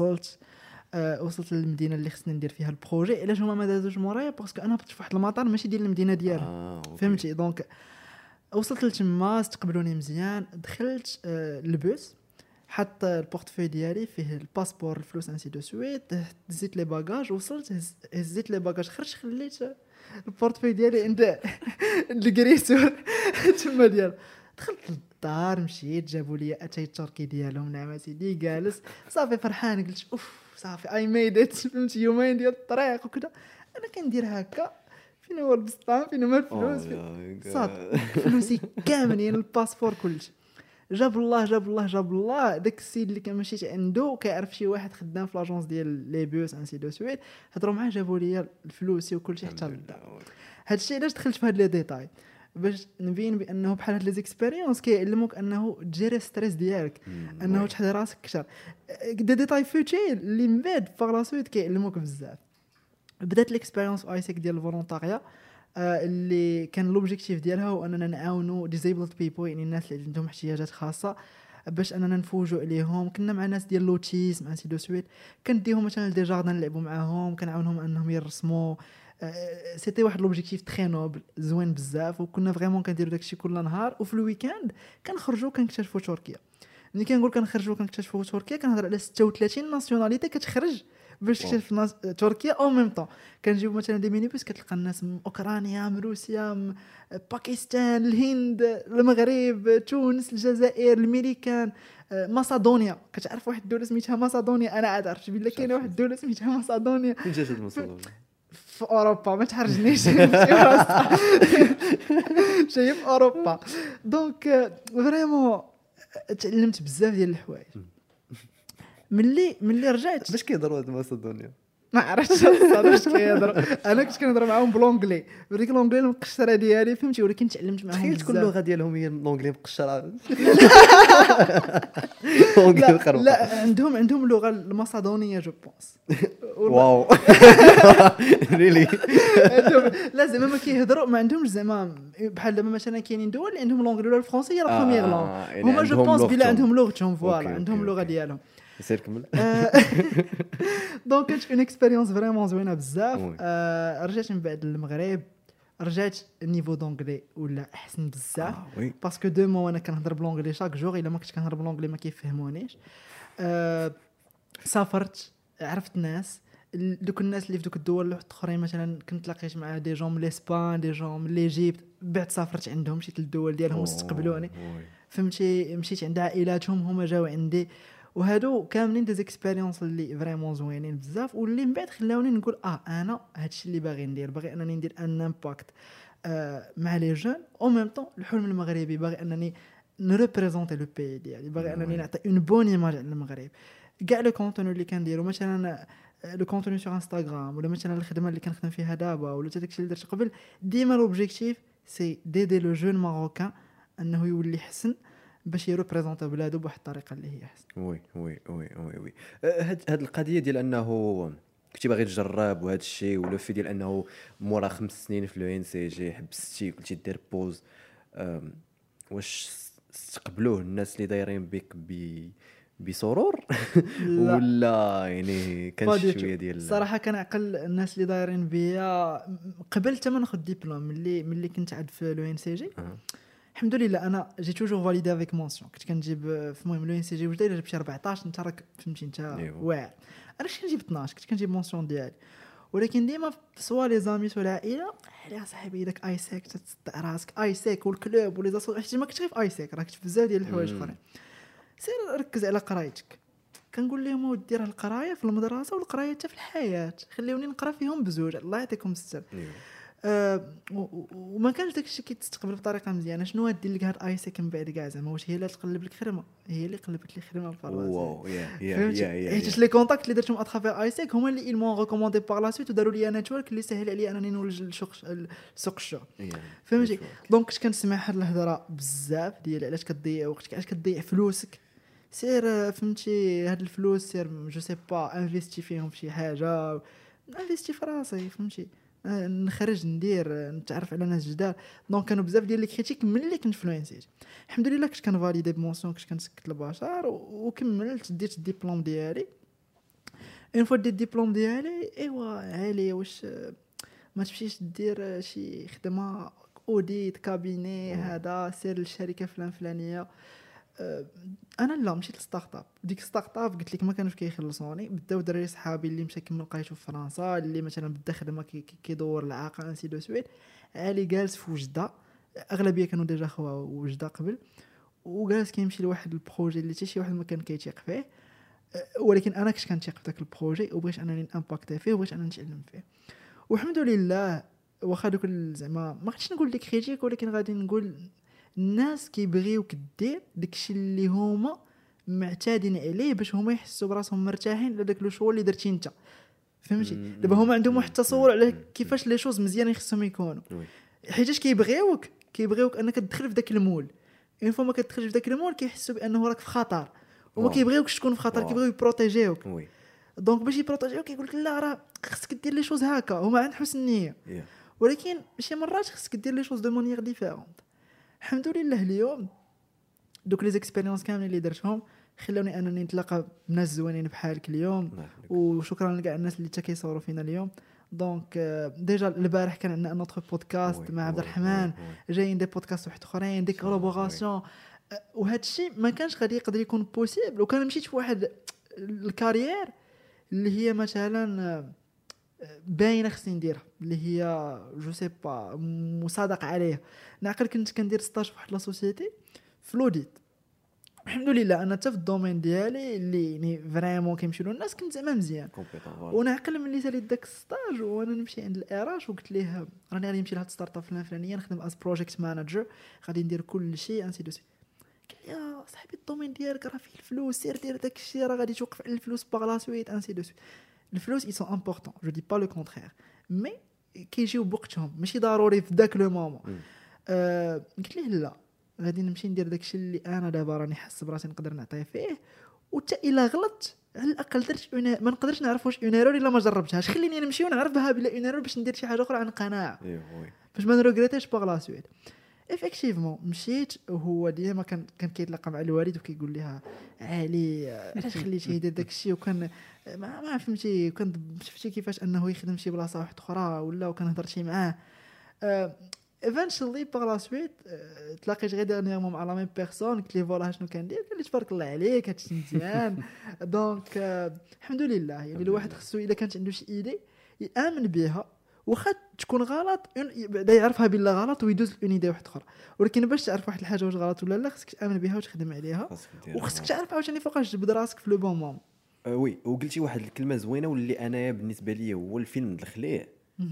وصلت للمدينه اللي خصني ندير فيها البروجي. علاش هما ما دازوش مورايا؟ باسكو انا بطيت في واحد المطار ماشي ديال المدينه ديالهم. فهمتي؟ دونك وصلت لتما استقبلوني مزيان. دخلت البوس حط البورتفوي ديالي فيه الباسبور الفلوس انسي دو سويت. هزيت لي باجاج وصلت هزيت لي باجاج خرجت خليت البورتفوي ديالي عند الكريسور تما ديال. دخلت للدار مشيت جابوا لي اتاي التركي ديالهم نعم سيدي جالس صافي فرحان. قلت اوف صافي اي ميد ات. فهمتي يومين ديال الطريق وكذا انا كندير هكا. فين هو البسطام فين هما الفلوس صافي فلوسي كاملين الباسبور كلشي. جاب الله داك السيد اللي كان مشيت عنده كيعرف شي واحد خدام في لاجونس ديال لي بوس انسي دو سويت. هضروا معاه جابوا لي الفلوس وكلشي حتى للدار. هادشي علاش دخلت في هاد لي ديتاي باش نبين بانه بحال هاد لي زيكسبيريونس كيعلموك انه تجيري ستريس ديالك انه تحضر راسك كثر دي ديتاي فوتيل اللي من بعد باغ سويت كيعلموك بزاف. بدات الاكسبيريونس ايسيك ديال الفولونتاريا اللي كان لوبجيكتيف ديالها هو اننا نعاونوا ديزيبلد بيبل يعني الناس اللي عندهم احتياجات خاصه باش اننا نفوجوا عليهم. كنا مع ناس ديال لوتيزم انسي دو سويت كنديهم مثلا دي جاردن نلعبوا معاهم كنعاونهم انهم يرسموا. سيتي واحد لوبجيكتيف تري نوبل زوين بزاف وكنا فريمون كنديروا داكشي كل نهار. وفي الويكاند كنخرجوا كنكتشفوا تركيا. ملي كنقول كنخرجوا كنكتشفوا تركيا كنهضر على 36 ناسيوناليتي كتخرج باش تكتشف تركيا او ميم طون. كنجيبوا مثلا دي مينيبوس كتلقى الناس من اوكرانيا من روسيا من باكستان الهند المغرب تونس الجزائر الميريكان ماسادونيا. كتعرف واحد الدوله سميتها ماسادونيا؟ انا عاد عرفت بلي كاينه واحد الدوله سميتها ماسادونيا. فين جات ماسادونيا؟ في اوروبا ما تحرجنيش. شي في اوروبا. دونك فريمون تعلمت بزاف ديال الحوايج. ملي رجعت باش كيهضروا هاد ماسادونيا ما عرفتش واش كيهضروا. انا كنت كنهضر معاهم بالونجلي بديك الونجلي المقشره ديالي فهمتي ولكن تعلمت معاهم تخيل تكون بزاف. اللغه ديالهم هي الانجلي مقشره. لا عندهم اللغه الماسادونيه جو بونس. واو ريلي. لا زعما ما كيهضروا ما عندهمش زعما بحال دابا مثلا كاينين دول اللي عندهم لونجلي ولا الفرنسي هي لا بروميير لونغ. هما جو بونس بلا عندهم لغتهم فوالا عندهم اللغه ديالهم. سير كمل. دونك كانت اون اكسبيريونس فريمون زوينه بزاف. رجعت من بعد المغرب رجعت النيفو دونغلي ولا احسن بزاف باسكو دو مو انا كنهضر بلونغلي شاك جور. الا ما كنتش كنهضر بلونغلي ما كيفهمونيش. سافرت عرفت ناس دوك الناس اللي في دوك الدول الاخرين مثلا كنت لاقيت مع دي جون من اسبان دي جون من ليجيبت. بعد سافرت عندهم مشيت للدول ديالهم واستقبلوني فهمتي. مشيت عند عائلاتهم هما جاوا عندي وهادو كاملين دي زيكسبيريونس اللي فريمون زوينين بزاف واللي من بعد خلاوني نقول انا هادشي اللي باغي ندير. باغي انني ندير ان امباكت مع لي جون او ميم طون الحلم المغربي. باغي انني نريبريزونتي لو بي ديالي. باغي انني نعطي اون بون ايماج على المغرب. كاع لو كونتوني اللي كنديرو مثلا لو كونتوني سور انستغرام ولا مثلا الخدمه اللي كنخدم فيها دابا ولا داكشي اللي درت قبل ديما لوبجيكتيف سي ديدي لو جون ماروكان انه يولي حسن باش يريبريزونطي بلادو بواحد الطريقه اللي هي احسن. وي وي وي وي وي هاد القضيه ديال انه كنتي باغي تجرب وهذا الشيء، ولا في ديال انه مورا 5 سنين في لو ان سي جي حبستي قلتي دير بوز، واش استقبلوه الناس اللي دايرين بك بسرور ولا يعني كان شويه ديال الصراحه كنعقل الناس اللي دايرين بيا قبل حتى ما ناخذ ديبلوم ملي كنت عاد في لو ان سي جي. الحمد لله انا جي توجور فاليدي افيك مونسيون، كنت كنجيب في المهم لو ان سي جي وجدي جاب شي 14 انت راك فهمتي انت واعر. انا كنت كنجيب 12 كنت كنجيب مونسيون ديالي، ولكن ديما سوا لي زامي سوا العائله يا صاحبي داك اي سيك تصدع راسك اي سيك والكلوب ولي زاسو حيت ما كنتش غير في اي سيك، راك في بزاف ديال الحوايج اخرين. سير ركز على قرايتك. كنقول لهم ودي راه القرايه في المدرسه والقرايه حتى في الحياه خليوني نقرا فيهم بزوج الله يعطيكم الستر. وما كانش داكشي كيتستقبل بطريقه مزيانه. شنو غادير لك هاد اي سيك من بعد كاع زعما واش هي اللي تقلب لك خدمه؟ هي اللي قلبت لي خدمه بفرنسا. واو يا حيت لي كونتاكت اللي درتهم اترافير اي سيك هما اللي ايلمون ريكوموندي بار لا سويت وداروا لي نيتورك اللي سهل عليا انني نولج سوق الشغل. فهمتي دونك كنت كنسمع هاد الهضره بزاف ديال علاش كتضيع وقتك علاش كتضيع فلوسك. سير فهمتي هاد الفلوس سير جو سي با انفيستي فيهم في شي حاجه، انفيستي في راسي فهمتي نخرج ندير نتعرف على ناس جداد. دونك كانوا بزاف ديال لي كريتيك ملي كنت فلوينسيت. الحمد لله كنت كنفاليدي بمونسيون كنت كنسكت البشر وكملت ديت الدبلوم ديالي. اون فوا ديت الدبلوم ديالي ايوا عالي واش ما تمشيش دير شي خدمه اوديت كابيني هذا سير للشركه فلانيه. انا لا مشيت للستارت اب. ديك ستارت اب قلت لك ما كانوش كيخلصوني. بداو دراري صحابي اللي مشى كمل قرايته في فرنسا اللي مثلا بدا خدمه كيدور العاقه انسي دو سويت. علي جالس في وجده اغلبيه كانوا ديجا خوا وجده قبل وجالس كيمشي لواحد البروجي اللي حتى شي واحد ما كان كيتيق فيه. ولكن انا كنت كنتيق في داك البروجي وبغيت انني نامباكتي فيه وبغيت انني نتعلم فيه. والحمد لله واخا دوك زعما ما غاديش نقول لك كريتيك ولكن غادي نقول الناس كيبغيوك دير داكشي اللي هما معتادين عليه باش هما يحسوا براسهم مرتاحين لداك لو شو اللي درتي انت. فهمتي دابا هما عندهم واحد التصور على كيفاش لي شوز مزيان خصهم يكونوا حيتاش كيبغيوك انك تدخل في داك المول. اون فوا ما كتدخلش في داك المول كيحسوا بانه راك في خطر وما كيبغيوكش تكون في خطر كيبغيو يبروتيجيوك. دونك باش يبروتيجيوك كيقول لك لا راه خصك دير لي شوز هكا هما عند حسن النيه ولكن شي مرات خصك دير لي شوز دو مانيير ديفيرونت. الحمد لله اليوم دوك لي زيكسبيريونس كاملين اللي درتهم خلوني انني نتلاقى بناس زوينين بحالك اليوم. وشكرا لكاع الناس اللي حتى كيصوروا فينا اليوم. دونك ديجا البارح كان عندنا نوتر بودكاست مع عبد الرحمن جايين دي بودكاست واحد اخرين دي كولابوراسيون. وهذا الشيء ما كانش غادي يقدر يكون بوسيبل وكان مشيت في واحد الكارير اللي هي مثلا باينه خصني نديرها اللي هي جو سي با مصادقه عليها. نعقل كنت كندير ستاج في واحد لا سوسيتي فلوديت. الحمد لله انا حتى في الدومين ديالي اللي يعني فريمون كيمشيو له الناس كنت زعما مزيان. ونعقل ملي ساليت داك ستاج وانا نمشي عند الاراش وقلت ليه راني غادي نمشي لهاد ستارت اب الفلانيه نخدم از بروجيكت مانجر غادي ندير كل شيء انسي دو سي. قال لي يا صاحبي الدومين ديالك راه فيه الفلوس سير دير داك الشيء راه غادي توقف على الفلوس باغ لا سويت انسي دو سي. الفلوس ils sont importants je dis pas le contraire mais كيجيو بوقتهم ماشي ضروري في داك لو مومون. قلت ليه لا غادي نمشي ندير داكشي اللي انا دابا راني حاسس براسي نقدر نعطيه فيه وحتى الا غلطت على الاقل درت ما نقدرش نعرف واش اون ايرور الا ما جربتهاش. خليني نمشي ونعرف بها بلا اون ايرور باش ندير شي حاجه اخرى عن قناعه باش ما نروغريتيش باغ لا سويت. افيكتيفمون مشيت وهو ديما كان كيتلاقى مع الوالد وكيقول لها علي علاش خليتيه يدير داكشي وكان ما فهمتي كنت شفتي كيفاش انه يخدم شي بلاصه واحده اخرى ولا وكنهضر شي معاه. ايفينشولي باغ لا سويت تلاقيت غير ديرنييرمون مع لا ميم بيرسون قلت لي فوالا شنو كندير قال لي تبارك الله عليك هادشي مزيان. دونك الحمد لله يعني الواحد خصو الا كانت عنده شي ايدي يامن بها واخا تكون غلط بدا يعرفها بلا غلط ويدوز اون ايدي واحده اخرى. ولكن باش تعرف واحد الحاجه واش غلط ولا لا خصك تامن بها وتخدم عليها وخصك تعرف عاوتاني فوقاش تجبد راسك في لو بون مومون. وي وقلتي واحد الكلمه زوينه واللي انايا بالنسبه لي هو الفيلم دخليه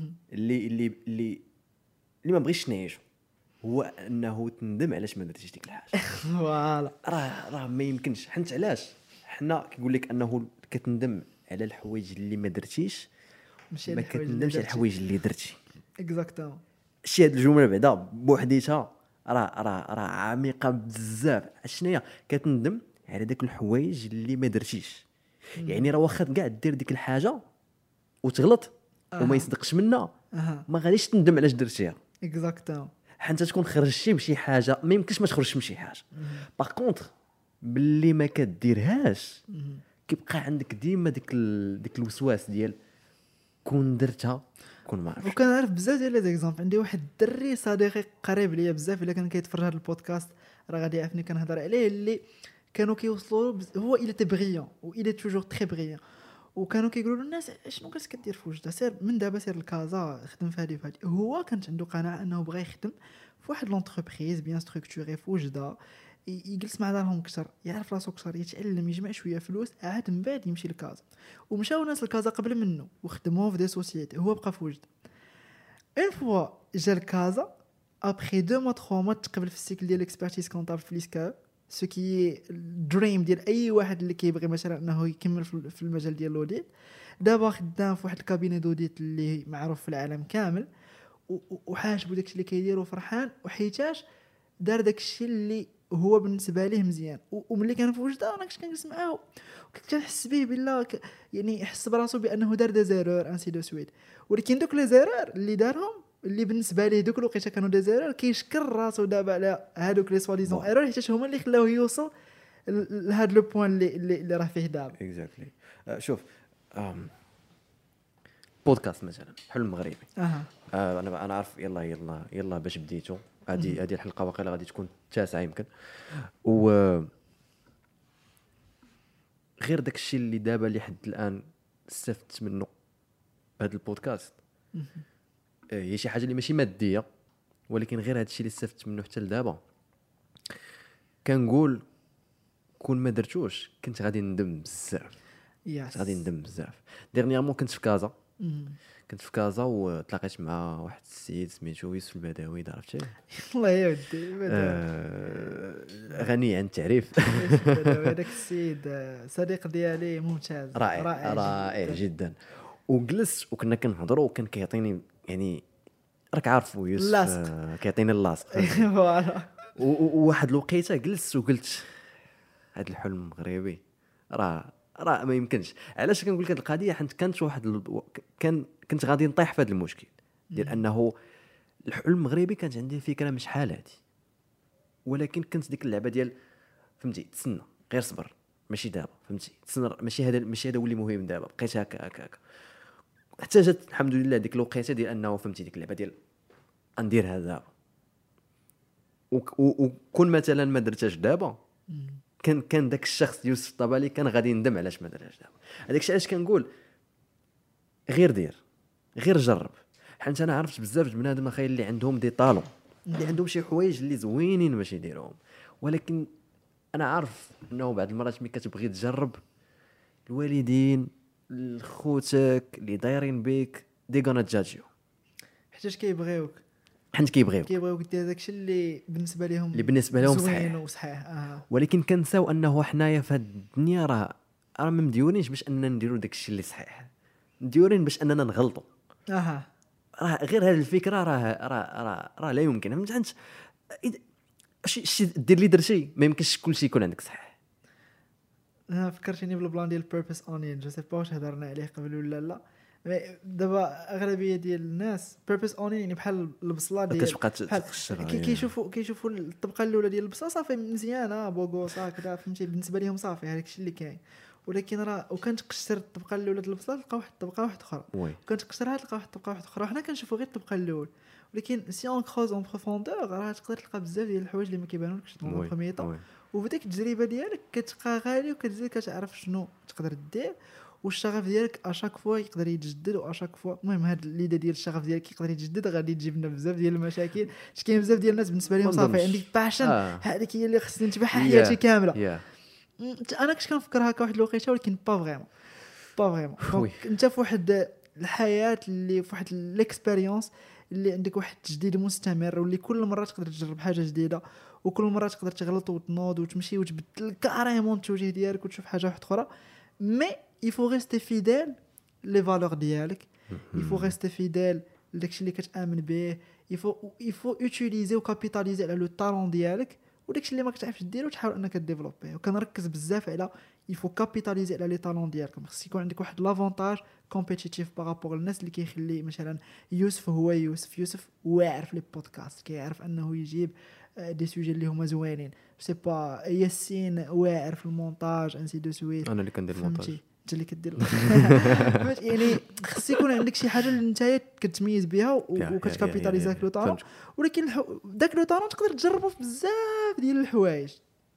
اللي ما بغيتش نعيشه هو انه تندم علاش ما درتيش ديك الحاجه. فوالا راه ما يمكنش. حنت علاش حنا كنقول لك انه كتندم على الحوايج اللي ما درتيش ما كتندمش على الحوايج اللي درتي. اكزاكتومون شي هاد الجمله بعدا بوحديتها راه عميقه بزاف. شنو كتندم على داك الحوايج اللي ما درتيش. يعني راه واخا كاع دير ديك الحاجه وتغلط وما يصدقش منها ما غاديش تندم علاش درتيها. اكزاكتومون. حتى تكون خرجتي بشي حاجه ما يمكنش ما تخرجش من شي حاجه. باغ كونطخ باللي ما كديرهاش كيبقى عندك ديما ديك الوسواس ديال كون درتها كون ما عرفتش. وكنعرف بزاف ديال لي زيكزامبل. عندي واحد الدري صديقي قريب ليا بزاف، الا كان كيتفرج هذا البودكاست راه غادي يعرفني كنهضر عليه، اللي كانوا كيوصلوا هو الى تي بريون و الى توجور تري بريون، وكانوا كيقولوا له الناس شنو كنت كدير في وجده، سير من دابا سير لكازا خدم في هذه وفهذه. هو كانت عنده قناعه انه بغى يخدم في واحد لونتربريز بيان ستركتوري في وجده، يجلس مع دارهم كثر، يعرف راسو كثر، يتعلم، يجمع شويه فلوس، عاد من بعد يمشي لكازا. ومشاو ناس لكازا قبل منه وخدموا في دي سوسيتي، هو بقى في وجده. اون فوا جا لكازا ابري 2 موا 3 موا تقبل في السيكل ديال الاكسبرتيز كونطابل في ليسكا، سو كي دريم ديال اي واحد اللي كيبغي مثلا انه يكمل في المجال ديال الاوديت. دابا خدام في واحد الكابيني دوديت اللي معروف في العالم كامل، وحاشبو داكشي اللي كيدير وفرحان، وحيتاش دار داكشي اللي هو بالنسبه ليه مزيان. وملي كان في وجده انا كنت كنجلس معاه وكنت كنحس به بالله يعني يحس براسو بانه دار دي زيرور انسي دو سويت. ولكن دوك لي زيرور اللي دارهم اللي بالنسبه ليه دوك الوقيته كانوا دي زيرور، كيشكر راسو دابا على هادوك لي سوا ديزون ايرور، حيت هما اللي خلاوه يوصل لهاد لو بوين اللي راه فيه دابا. اكزاكتلي. شوف بودكاست مثلا حلم مغربي. انا عارف يلا باش بديتو هذه الحلقه واقيلا غادي تكون 9 يمكن. و غير داك الشيء اللي دابا لحد الان استفدت منه بهذا البودكاست هي شي حاجه اللي ماشي ماديه، ولكن غير هذا الشيء اللي استفدت منه حتى لدابا كنقول كون ما درتوش كنت غادي ندم بزاف. غادي ندم بزاف. ديرنيامون كنت في كازا وتلاقيت مع واحد السيد سميتو يوسف البداوي، عرفتيه؟ الله يودي غني عن التعريف. هذاك السيد صديق ديالي ممتاز، رائع جدا. وجلست وكنا كنهضروا وكان كيعطيني يعني راك عارف يوسف كيعطيني اللاصق. فوالا. وواحد الوقيته جلست وقلت هذا الحلم المغربي راه ما يمكنش. علاش كنقول لك هذه القضيه؟ حيت كانت واحد كنت غادي نطيح في هذا المشكل ديال انه الحلم المغربي كانت عندي فكره مش حال هذه، ولكن كنت ديك اللعبه ديال فهمتي تسنى غير صبر ماشي دابا، فهمتي تسنى ماشي هذا ولي مهم دابا، بقيت هكا حتى جات الحمد لله ديك الوقيته ديال انه فهمتي ديك اللعبه ديال ندير هذا دابا. وكون مثلا ما درتهاش دابا كان داك الشخص يوسف الطبالي كان غادي يندم علاش ما درهاش دابا. هذاك الشيء علاش كنقول غير دير غير جرب. حيت انا عرفت بزاف د بنادم اخي اللي عندهم دي طالون اللي عندهم شي حوايج اللي زوينين باش يديروهم، ولكن انا عارف انه بعض المرات ملي كتبغي تجرب الوالدين خوتك اللي دايرين بك دي غانا جاجيو حيت كيبغيوك كيبغيوك دير داكشي اللي بالنسبه لهم صحيح وصحيح. ولكن كنساو انه حنايا في هاد الدنيا راه ما مديورينش باش اننا نديروا داكشي اللي صحيح، مديورين باش اننا نغلطوا. راه غير هذه الفكره راه لا يمكن. فهمت شي دير اللي درتي ما يمكنش كلشي يكون عندك صحيح. انا فكرتيني بالبلان ديال بيربس اونين، جو سي با واش هضرنا عليه قبل ولا لا. دابا اغلبيه ديال الناس بيربس اونين يعني بحال البصله ديال كتبقى تقشر كيشوفوا الطبقه الاولى ديال البصله صافي مزيانه بوغوس هكذا، فهمتي بالنسبه لهم صافي هذاك الشيء اللي كاين. ولكن راه وكانت تقشر الطبقه الاولى ديال البصله تلقى واحد الطبقه واحد اخرى، كانت تقشرها تلقى واحد الطبقه واحد اخرى. حنا كنشوفوا غير الطبقه الاولى، ولكن سي اون كروز اون بروفوندور راه تقدر تلقى بزاف ديال الحوايج اللي ما كيبانولكش في البروميي طون. وبديك التجربه ديالك كتبقى غالي وكتزيد كتعرف شنو تقدر دير، والشغف ديالك اشاك فوا يقدر يتجدد واشاك فوا. المهم هاد الليده ديال الشغف ديالك يقدر يتجدد غادي تجيب لنا بزاف ديال المشاكل. كاين بزاف ديال الناس بالنسبه لهم صافي عندي باشن هذيك هي اللي خصني نتبعها حياتي كامله. انا كنت كنفكر هكا واحد الوقيته، ولكن با فريمون انت في واحد الحياه اللي في واحد الاكسبيريونس اللي عندك واحد التجديد مستمر، واللي كل مره تقدر تجرب حاجه جديده، وكل مره تقدر تغلط وتنوض وتمشي وتبدل كاريمون التوجيه ديالك وتشوف حاجه واحده اخرى. مي il faut rester fidèle les valeurs ديالك، il faut rester fidèle لداكشي اللي كتامن به، يفو اوتيليزي وكابيتاليزي على لو طالون ديالك وداكشي اللي ما كتعرفش ديرو تحاول انك ديفلوبيه. وكنركز بزاف على يفو كابيتاليزي على لي طالون ديالكم. خص يكون عندك واحد لافونتاج كومبيتيتيف بارابور الناس اللي كيخلي مثلا يوسف هو يوسف واعر في لي بودكاست كيعرف انه يجيب دي سوجي اللي هما زوينين سي با ياسين واعر في المونتاج انسي دو سويت. انا اللي كندير المونتاج انت اللي كدير يعني خص يكون عندك شي حاجه اللي نتايا كتميز بها وكتكابيتاليزي داك لو طالون. ولكن داك لو طالون تقدر تجربه في بزاف ديال الحوايج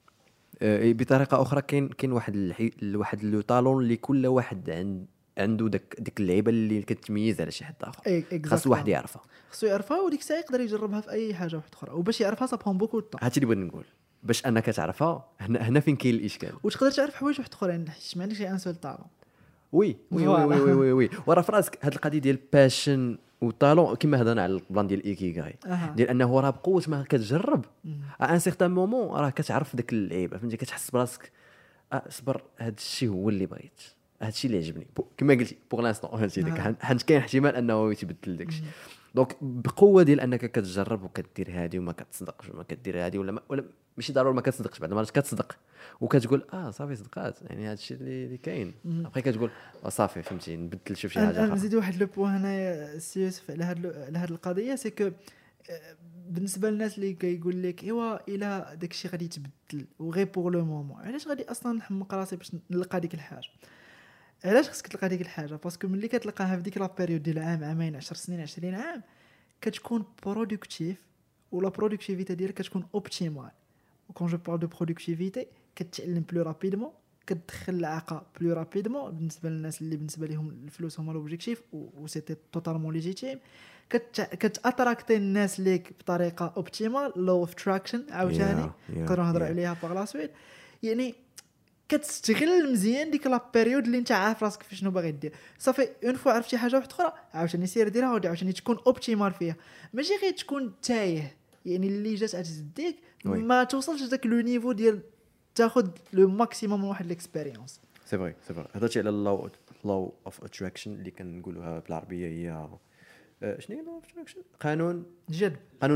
بطريقه اخرى. كاين واحد لو طالون اللي كل واحد عنده ديك اللعيبه اللي كتميز على شي حد اخر. خاص واحد يعرفها وديك الساعه يقدر يجربها في اي حاجه واحده اخرى. وباش يعرفها صابون بوكو طون. هادشي اللي بغيت نقول باش انك تعرفها. هنا فين كاين الاشكال. وتقدر تعرف حوايج واحد اخرين حيت ما عندكش ان سول طالون. وي ورا فراسك هاد القضيه ديال باشن وطالون كما هضرنا على البلان ديال ايكيغاي ديال انه راه بقوه ما كتجرب ان سيغتان مومون راه كتعرف داك اللعيبه فهمتي. كتحس براسك صبر هاد الشيء هو اللي بغيت هاد الشيء اللي عجبني كما قلتي بوغ لانستون فهمتي داك حيت كاين احتمال انه يتبدل داكشي. دونك بقوه ديال انك كتجرب وكدير هادي وما كتصدقش وما كدير هادي ولا ماشي ضروري ما كتصدقش بعد المرات كتصدق وكتقول صافي صدقات يعني هذا الشيء اللي كاين. بقى كتقول صافي فهمتي نبدل شوف شي حاجه اخرى. نزيد واحد لو بوين هنايا سيوسف على هاد القضيه سي كو بالنسبه للناس اللي كيقول لك ايوا الا داكشي غادي يتبدل وغير بوغ لو مومون علاش غادي اصلا نحمق راسي باش نلقى ديك الحاجه. علاش خصك تلقى ديك الحاجه باسكو ملي كتلقاها في ديك لا بيريود ديال عامين 10 سنين 20 عام كتكون برودكتيف ولا برودكتيفيتي ديالك كتكون اوبتيمال. وكون جو بارل دو برودكتيفيتي كتعلم بلو رابيدمون كتدخل العاقه بلو رابيدمون بالنسبه للناس اللي بالنسبه لهم الفلوس هما لوبجيكتيف و سيتي توتالمون ليجيتيم. كتاتراكتي الناس ليك بطريقه اوبتيمال لو اوف تراكشن عاوتاني نقدروا نهضروا عليها باغ لا سويت. يعني كتستغل مزيان ديك لا بيريود اللي انت عارف راسك في شنو باغي دير. صافي اون فوا عرفتي حاجه واحده اخرى عاوتاني سير ديرها عاوتاني تكون اوبتيمال فيها ماشي غير تكون تايه. يعني اللي جات تزديك ما توصلش داك لو نيفو ديال تاخذ لو ماكسيموم من واحد الاكسبيريونس. سي فري هضرتي على لو اوف اتراكشن اللي كنقولوها بالعربيه هي شنو هي لو اوف اتراكشن؟ قانون الجذب. قانون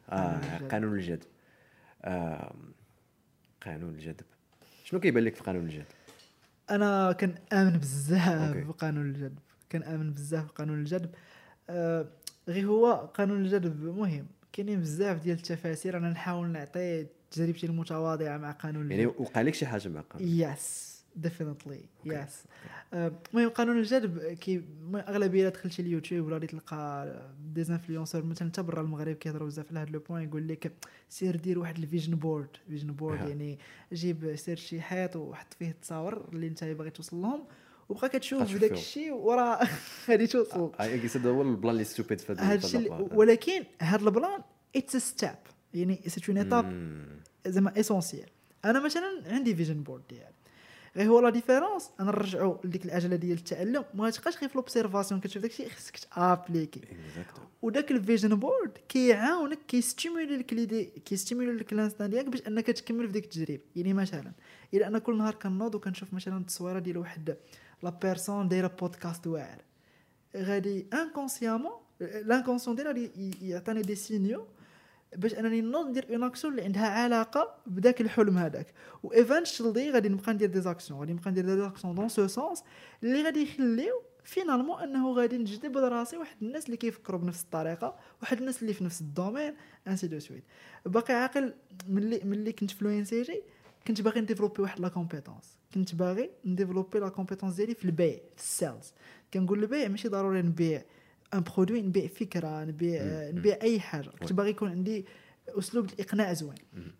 الجذب شنو كيبان لك في قانون الجذب؟ انا كنآمن بزاف بقانون الجذب. كنآمن بزاف بقانون الجذب. غير هو قانون الجذب مهم. كاينين بزاف ديال التفاسير. انا نحاول نعطي تجربتي المتواضعه مع قانون الجذب. يعني وقع لك شي حاجه مع قانون؟ يس ديفينيتلي يس. المهم قانون الجذب كي اغلبيه دخلتي اليوتيوب ولا تلقى ديزانفلونسور مثلا حتى برا المغرب كيهضروا بزاف على هذا لو بوين. يقول لك سير دير واحد الفيجن بورد يعني جيب سير شي حيط وحط فيه التصاور اللي انت باغي توصل لهم وبقى كتشوف داك الشيء ورا غادي توصل. هذا هو البلان اللي ستوبيد في هذا الشيء. ولكن هذا البلان اتس ستيب يعني سي اون ايتاب زعما اسونسيال. انا مثلا عندي فيجن بورد ديالي غير هو لا ديفيرونس. انا نرجعوا لديك العجله ديال التعلم ما تبقاش غير في لوبسيرفاسيون كتشوف داكشي خصك تابليكي. وداك الفيجن بورد كيعاونك كيستيمولي لك ليدي كيستيمولي لك الانستان ديالك باش انك تكمل في ديك التجربه. يعني مثلا الا انا كل نهار كنوض وكنشوف مثلا التصويره ديال واحد لا بيرسون دايره بودكاست واعر غادي انكونسيامون لانكونسيون ديالها يعطيني دي سينيو باش انني نوض ندير اون اكسيون اللي عندها علاقه بداك الحلم هذاك. وايفنتشلي غادي نبقى ندير دي زاكسيون دون سو سونس اللي غادي يخليو فينالمون انه غادي نجذب لراسي واحد الناس اللي كيفكروا بنفس الطريقه واحد الناس اللي في نفس الدومين انسي دو سويت. باقي عاقل ملي كنت في لو ان سي جي كنت باغي نديفلوبي واحد لا كومبيتونس. كنت باغي نديفلوبي لا كومبيتونس ديالي في البيع في السيلز. كنقول البيع ماشي ضروري نبيع ان برودوي نبيع فكره نبيع اي حاجه. كنت باغي يكون عندي اسلوب الاقناع زوين.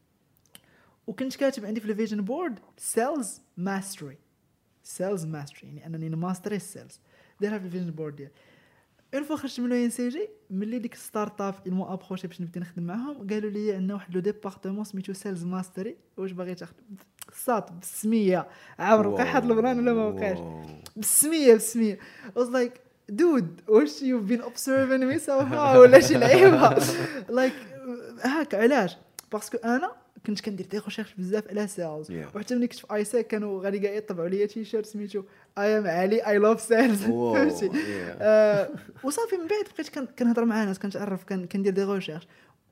وكنت كاتب عندي في الفيجن بورد سيلز ماستري يعني انني نماستري السيلز. دايرها في الفيجن بورد ديالي. اون فوا خرجت من ان سي جي ملي ديك ستارت اب المو ابروشي باش نبدا نخدم معاهم قالوا لي عندنا واحد لو ديبارتمون سميتو سيلز ماستري واش باغي تاخذ صات بالسميه عمر بقى حد البلان ولا ما بقاش بالسميه was like dude واش you've been observing me somehow ولا شي لعيبه like هاك. علاش؟ باسكو انا كنت كندير دي ريشيرش بزاف على سيلز Yeah. وحتى ملي كنت في ايساك كانوا غادي كاع يطبعوا لي تيشيرت سميتو اي ام علي اي لاف سيلز فهمتي وصافي من بعد بقيت كنهضر مع ناس كنتعرف كندير دي ريشيرش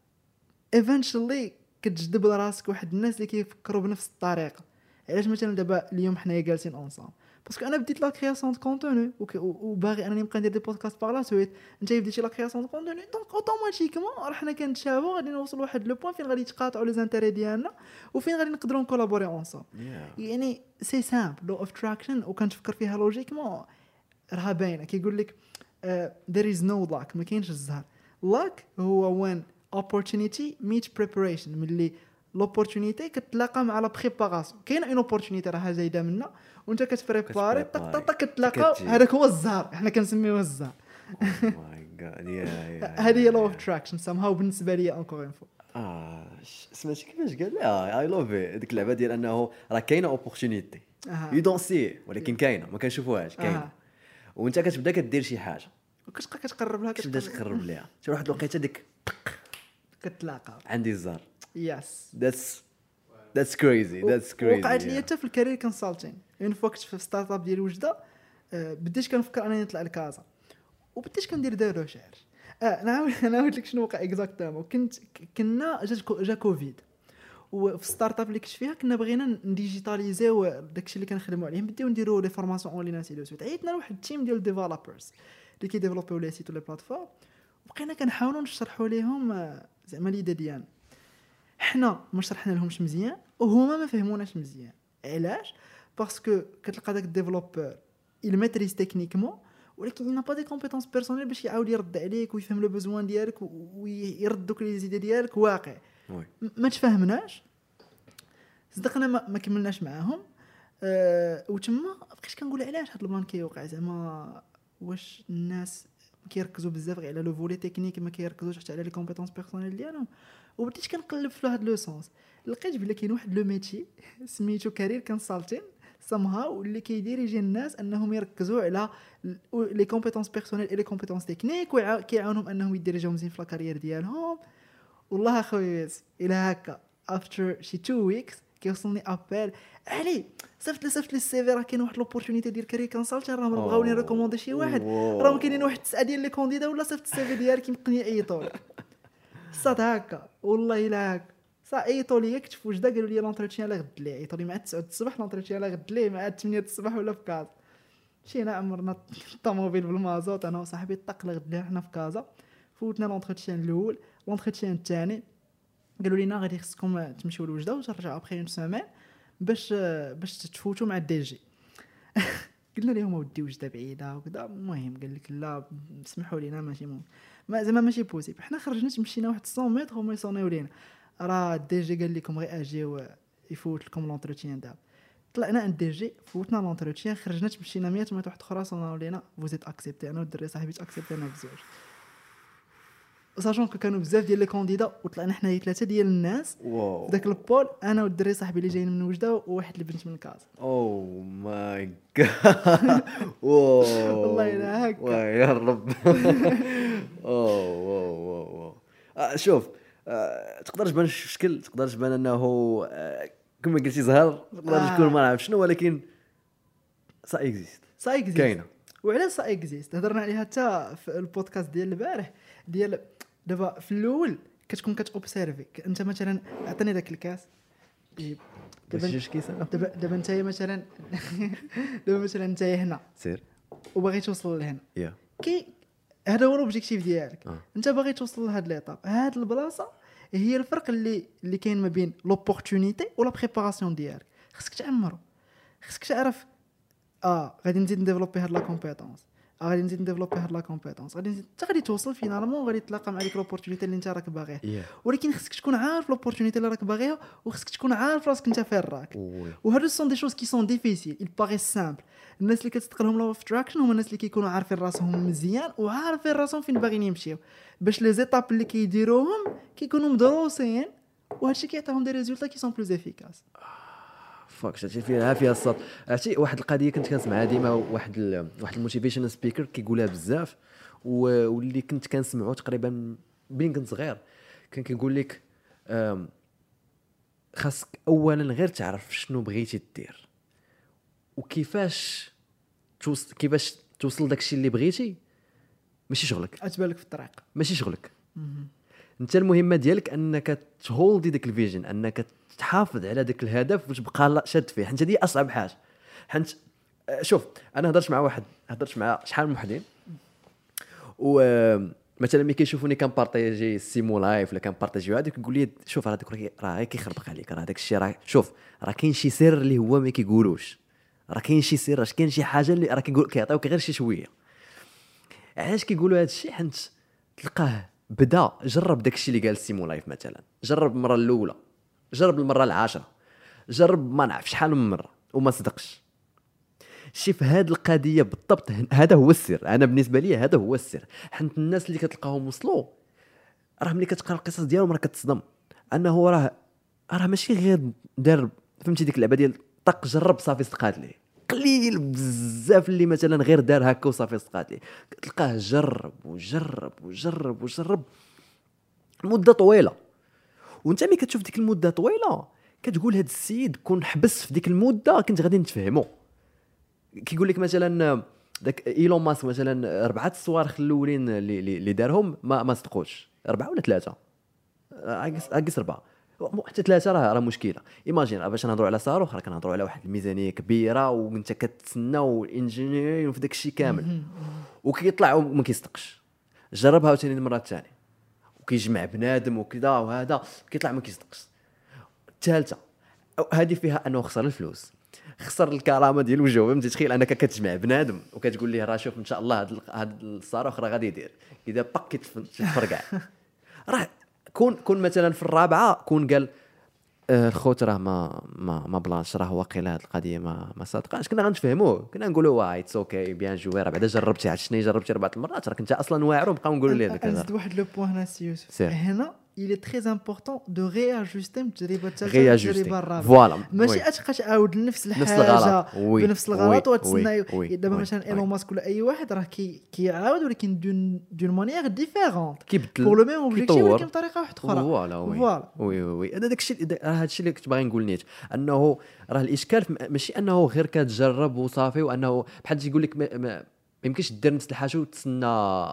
ايفينشولي كتجذب لراسك واحد الناس اللي كيفكروا بنفس الطريقه. علاش مثلا دابا اليوم حنايا جالسين اونصام باسكو انا بديت لا كرياسيون دو كونتوني وباغي انني نبقى ندير دي بودكاست باغ لا سويت. انت بديتي لا كرياسيون دو كونتوني دونك اوتوماتيكمون راه حنا كنتشابهوا غادي نوصل لواحد لو بوين فين غادي يتقاطعوا لي زانتيري ديالنا وفين غادي نقدروا نكولابوري اونصام. يعني سي سامبل لو اوف تراكشن وكنتفكر فيها لوجيكمون راها باينه. كيقول لك there is no luck ما كاينش الزهر. luck هو when opportunity meet preparation ملي لوبورتونيتي كتلاقى مع لا بريباراسيون. كاينه اون اوبورتونيتي راها زايده منا وانت كتبريباري طق كتلاقى هذاك هو الزهر. احنا كنسميوه الزهر. ماي جاد هذه هي لو اوف تراكشن سام هاو بالنسبه لي انكور اون فو. سمعتي كيفاش قال لا اي لوف ديك اللعبه ديال انه راه كاينه اوبورتونيتي يو دون سي ولكن كاينه ما كنشوفوهاش كاينه وانت كتبدا كدير شي حاجه وكتبقى كتقرب لها كتبدا تقرب ليها شي واحد الوقيته ديك كتلاقى عندي الزهر. يس that's crazy وقعت لي حتى في الكارير كونسلتين. اون فوا كنت في ستارت اب ديال وجده بديت كنفكر انني نطلع لكازا وبديت كندير دي ريشيرش. نعاود لك شنو وقع اكزاكتومون. كنا جا كوفيد وفي ستارت اب اللي كنت فيها كنا بغينا نديجيتاليزيو داكشي اللي كنخدموا عليه بديو نديروا لي فورماسيون اون لين سي دو سويت. عيطنا لواحد التيم ديال ديفلوبرز اللي كيديفلوبيو لي سيت ولي بلاتفورم وبقينا كنحاولوا نشرحوا لهم زعما ليدا ديالنا. حنا ما شرحنا لهمش مزيان وهما ما فهموناش مزيان. علاش؟ باسكو كتلقى داك الديفلوبور il maîtrise techniquement ولكن il n'a pas des compétences personnelles باش يعاود يرد عليك ويفهم لو بوزوان ديالك ويرد دوك لي زيد ديالك واقع. ما تفاهمناش صدقنا ما كملناش معاهم. وتما بقيت كنقول علاش هاد البلان كيوقع زعما واش الناس كيركزوا بزاف غير على لو فولي تكنيك ما كيركزوش حتى على لي كومبيتونس بيرسونيل ديالهم. وبديت كنقلب في هاد لو سونس لقيت بلا كاين واحد لو ميتي سميتو كارير كونسلتين سامهاو اللي كيدير يجي الناس انهم يركزوا على لي كومبيتونس بيرسونيل اي لي كومبيتونس تكنيك وكيعاونهم انهم يديريجيو مزيان في الكارير ديالهم. والله اخويا الى هكا افتر شي 2 ويكس كيوصلني ابل علي صيفط لي السي في راه كاين واحد لوبورتونيتي ديال كارير كونسلتين راه بغاوني ريكوموندي شي واحد راه كاينين واحد 9 ديال لي كونديدا ولا صيفط السي في ديالك يمكن يعيطوا لك صاد هكا والله الا هكا عيطوا لي كنت في وجده قالوا لي لونتروتيان لا غد لي عيطوا لي مع 9 الصباح لونتروتيان لا غد لي مع 8 الصباح ولا في كازا. مشينا عمرنا الطوموبيل بالمازوت انا وصاحبي طق غد لي حنا في كازا. فوتنا لونتروتيان الاول لونتروتيان الثاني قالوا لنا غادي خصكم تمشيو لوجده وترجعوا ابخي اون سيمين باش تفوتوا مع الدي جي. قلنا لهم ودي وجده بعيده وكذا. المهم قال لك لا سمحوا لينا ماشي ما زعما ماشي بوسيبل. حنا خرجنا مشينا واحد 100 متر وما يصونيو لينا راه الدي جي قال لكم غير اجيو يفوت لكم لونتروتيان دابا. طلعنا عند الدي جي فوتنا لونتروتيان خرجنا مشينا 100 متر واحد اخرى صوناو لينا فوزيت اكسبتي. انا والدري صاحبي اكسبتينا بزاف ساشون كانوا بزاف ديال لي كونديدا وطلعنا حنا 3 ديال الناس في داك البول انا والدري صاحبي اللي جايين من وجده وواحد البنت من كاز. او ماي جاد والله الا هكا يا رب. او شوف تقدر تبان الشكل تقدر تبان انه كما قلتي زهر تقدر تكون ما نعرف شنو ولكن سا اكزيست كاينه. وعلاش سا اكزيست هضرنا عليها حتى في البودكاست ديال البارح ديال دابا في الاول كتكون كتوبسيرفي انت مثلا عطيني داك الكاس دابا انت مثلا دابا مثلا انت هنا سير وباغي توصل لهنا كي هذا هو الاوبجيكتيف ديالك. انت باغي توصل لهاد ليطاب هاد البلاصه هي الفرق اللي كاين ما بين لوبورتونيتي ولا بريباراسيون ديالك. خصك تعمرو خصك تعرف غادي نزيد نديفلوبي هاد لا كومبيتونس غادي نزيد نديفلوبي هاد لا كومبيتونس غادي نزيد حتى غادي توصل فينالمون غادي تلاقى مع ديك لوبورتونيتي اللي انت راك باغيها. ولكن خصك تكون عارف لوبورتونيتي اللي راك باغيها وخصك تكون عارف راسك انت فين راك. وهادو سون دي شوز كي سون ديفيسيل il paraît simple. الناس اللي كتستقلهم لو ابستراكشن هما الناس اللي كيكونوا عارفين راسهم مزيان وعارفين راسهم فين باغيين يمشيو باش لي زيتاب اللي كيديروهم كيكونوا مدروسين وهادشي كيعطيهم دي ريزولطا كي سون بلوز افيكاس. فاك شتي فيها الصوت. عرفتي واحد القضيه كنت كنسمعها ديما واحد الموتيفيشن سبيكر كيقولها بزاف واللي كنت كنسمعو تقريبا بين كنت صغير كان كيقول لك خاصك اولا غير تعرف شنو بغيتي دير وكيفاش توصل داكشي اللي بغيتي. ماشي شغلك، اتبان لك في الطريق، ماشي شغلك. انت المهمه ديالك انك تهولدي داك الفيجن، انك تحافظ على داك الهدف وتبقى شاد فيه، حيت هذه اصعب حاجه. حيت شوف انا هضرت مع شحال من وحدين، ومثلا ملي كيشوفوني كنبارطاجي سيمو لايف ولا كنبارطاجي هذا كيقول لي شوف راه داك راه كيخربق عليك، راه داك الشيء راه شوف راه كاين شي سر اللي هو ما كيقولوش، راه كاين شي سر، راه كاين شي حاجه اللي راه كيعطيوك غير شي شويه. علاش كيقولوا هذا الشيء؟ حيت تلقاه بدا جرب داك الشيء اللي قال سيمو لايف مثلا، جرب المره الاولى، جرب المره العاشره، جرب ما نعرف شحال من مره وما صدقش. شي في هذه القضيه بالضبط هذا هو السر. انا بالنسبه لي هذا هو السر. حيت الناس اللي كتلقاهم وصلوا راه ملي كتقرا القصص ديالهم راه كتصدم انه راه ماشي غير دار، فهمتي ديك اللعبه ديال طق جرب صافي صدقات ليه. قليل بزاف اللي مثلا غير دار هكا وصافي صدقات ليه، تلقاه جرب وجرب وجرب وجرب مده طويله. وانت ملي كتشوف ديك المده طويله كتقول هذا السيد كون حبس في ديك المده كنت غادي نتفهمو. كيقول لك مثلا داك ايلون ماسك مثلا 4 الصواريخ الاولين اللي دارهم ما صدقوش، 4 ولا 3 اقص 4 حتى 3 راه مشكله. ايماجين باش نهضروا على صاروخ راه كنهضروا على واحد الميزانيه كبيره وانت كتسنى والانجينير وفي داك الشيء كامل وكيطلع وما كيصدقش. جربها عاوتاني المره الثانيه وكيجمع بنادم وكذا وهذا كيطلع ما كيصدقش. الثالثه هذه فيها انه خسر الفلوس، خسر الكرامه ديال وجهه. فهمتي تخيل انك كتجمع بنادم وكتقول ليه راه شوف ان شاء الله هذا الصاروخ راه غادي يدير اذا باك كيتفرقع. راه كون مثلا في الرابعه كون قال الخوت راه ما بلانش راه واقيلا هذه القضيه ما صادقاش، كنا غنتفهموه، كنا نقولوا واه اتس اوكي بيان جوي راه بعدا جربتي عشني جربتي 4 المرات راك انت اصلا واعر ونبقاو نقولوا ليه هذاك نزيد واحد لو بوين هنا سي يوسف. هنا il est très important de réajuster التجربه الثالثه التجربه الرابعه. ماشي تبقى تعاود نفس الحاجه بنفس الغلط وتسنى. دابا مثلا ايلون ماسك ولا اي واحد راه كيعاود ولكن دون مانيير ديفيرونت بور لو ميم اوبجيكتيف ولكن بطريقه واحده اخرى. فوالا وي هذا داكشي راه هادشي اللي كنت باغي نقول نيت، انه راه الاشكال ماشي انه غير كتجرب وصافي وانه بحال يقول لك ما يمكنش دير نفس الحاجه وتسنى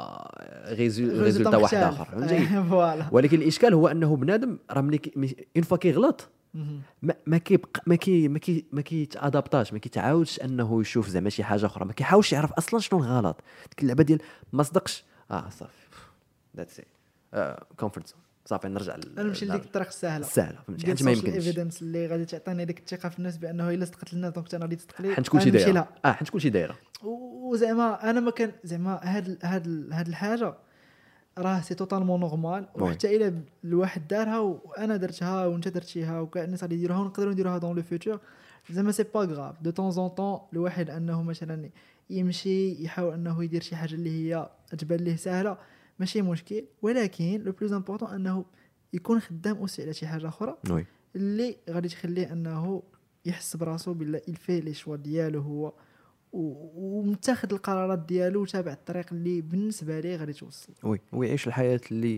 ريزولتا واحد اخر، فهمتي؟ ولكن الاشكال هو انه بنادم راه ملي اون فوا كيغلط ما كيبقى ما كيتادابطاش، ما كيتعاودش انه يشوف زعما شي حاجه اخرى، ما كيحاولش يعرف اصلا شنو الغلط. ديك اللعبه ديال ما صدقش صافي ذاتس كومفورت زون صافي نرجع نمشي لديك الطريق السهله فهمتي؟ حيت ما يمكنش الايفيدنس اللي غادي تعطيني ديك الثقه في الناس بانه الا صدقت لنا دونك انا غادي تصدق لي حيت كلشي دايره حيت كلشي دايره. وزعما انا ما كان زعما هاد الحاجه راه سي توتالمون نورمال. وحتى الا الواحد دارها وانا درتها وانت درتيها وكاع الناس غادي يديروها ونقدروا نديروها دون لو فيوتور، زعما سي با غراف دو طون زون طون الواحد انه مثلا يمشي يحاول انه يدير شي حاجه اللي هي تبان ليه سهله ماشي مشكل. ولكن لو بلوز امبورطون انه يكون خدام اوسي على شي حاجه اخرى اللي غادي تخليه انه يحس براسو بالله الفي لي شوا ديالو هو ومتاخذ القرارات ديالو وتابع الطريق اللي بالنسبه ليه غادي توصل ويعيش الحياه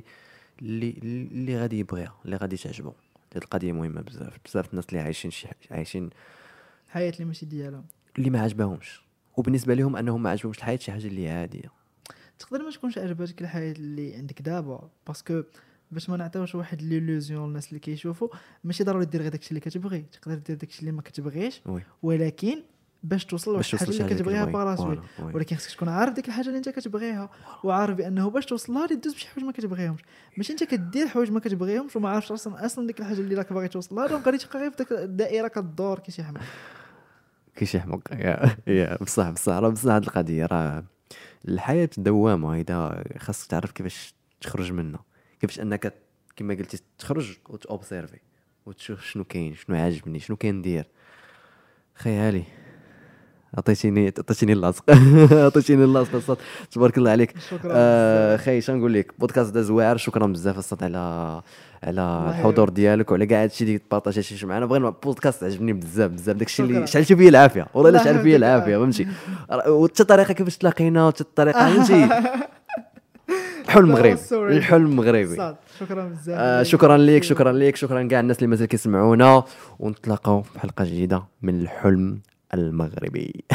اللي غادي يبغيها اللي غادي تعجبو. هذه القضيه مهمه بزاف الناس اللي عايشين حياه اللي ماشي ديالهم اللي ما عجبهمش وبالنسبه لهم انهم ما عجبهمش الحياه شي حاجه اللي عاديه. تقدر ما تكونش عجبتك الحياه اللي عندك دابا باسكو باش ما نعطيوش واحد ليلوزيون الناس اللي كيشوفوا ماشي ضروري دير غير داكشي اللي كتبغي، تقدر دير داكشي اللي ما كتبغيش ولكن باش توصل لواحد الحاجه اللي كتبغيها براسك. ولكن خصك تكون عارف ديك الحاجه اللي انت كتبغيها وعارف بانه باش توصل لها دوز بشي حوايج ما كتبغيهمش، ماشي انت كدير حوايج ما كتبغيهمش وما عارفش اصلا ديك الحاجه اللي راك باغي توصل لها دونك غادي تبقى غير في ديك الدائره كدور كيشي حمق يا بصح هذه القضيه راه الحياه دوامه. هيدا خاصك تعرف كيفاش تخرج منها، كيفاش انك كما قلتي تخرج وتوبسيرفي وتشوف شنو كاين شنو عاجبني شنو كندير. خيالي عطيتيني اللاصق عطيتيني اللاصق الصوت تبارك الله عليك. خي شنو نقول لك بودكاست داز واعر. شكرا بزاف الصوت على الحضور ديالك وعلى كاع هادشي اللي تبارطاجيتي معنا. بغينا بودكاست عجبني بزاف داكشي اللي شعلتي فيه العافيه والله الا شعل فيه العافيه فهمتي. وحتى الطريقه كيفاش تلاقينا وحتى الطريقه فهمتي الحلم مغربي الحلم مغربي. شكرا بزاف. شكرا ليك شكرا ليك شكرا كاع الناس اللي مازال كيسمعونا، ونتلاقاو في حلقه جديده من الحلم المغربي.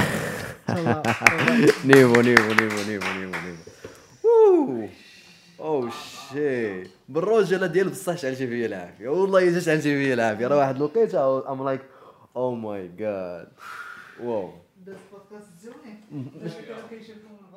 نيفو نيفو نيفو نيفو نيفو. او شي بالرجله ديال بصح شعلتي فيا العافيه، والله الا شعلتي فيا العافيه. راه واحد الوقيته ام لايك او ماي جاد واو.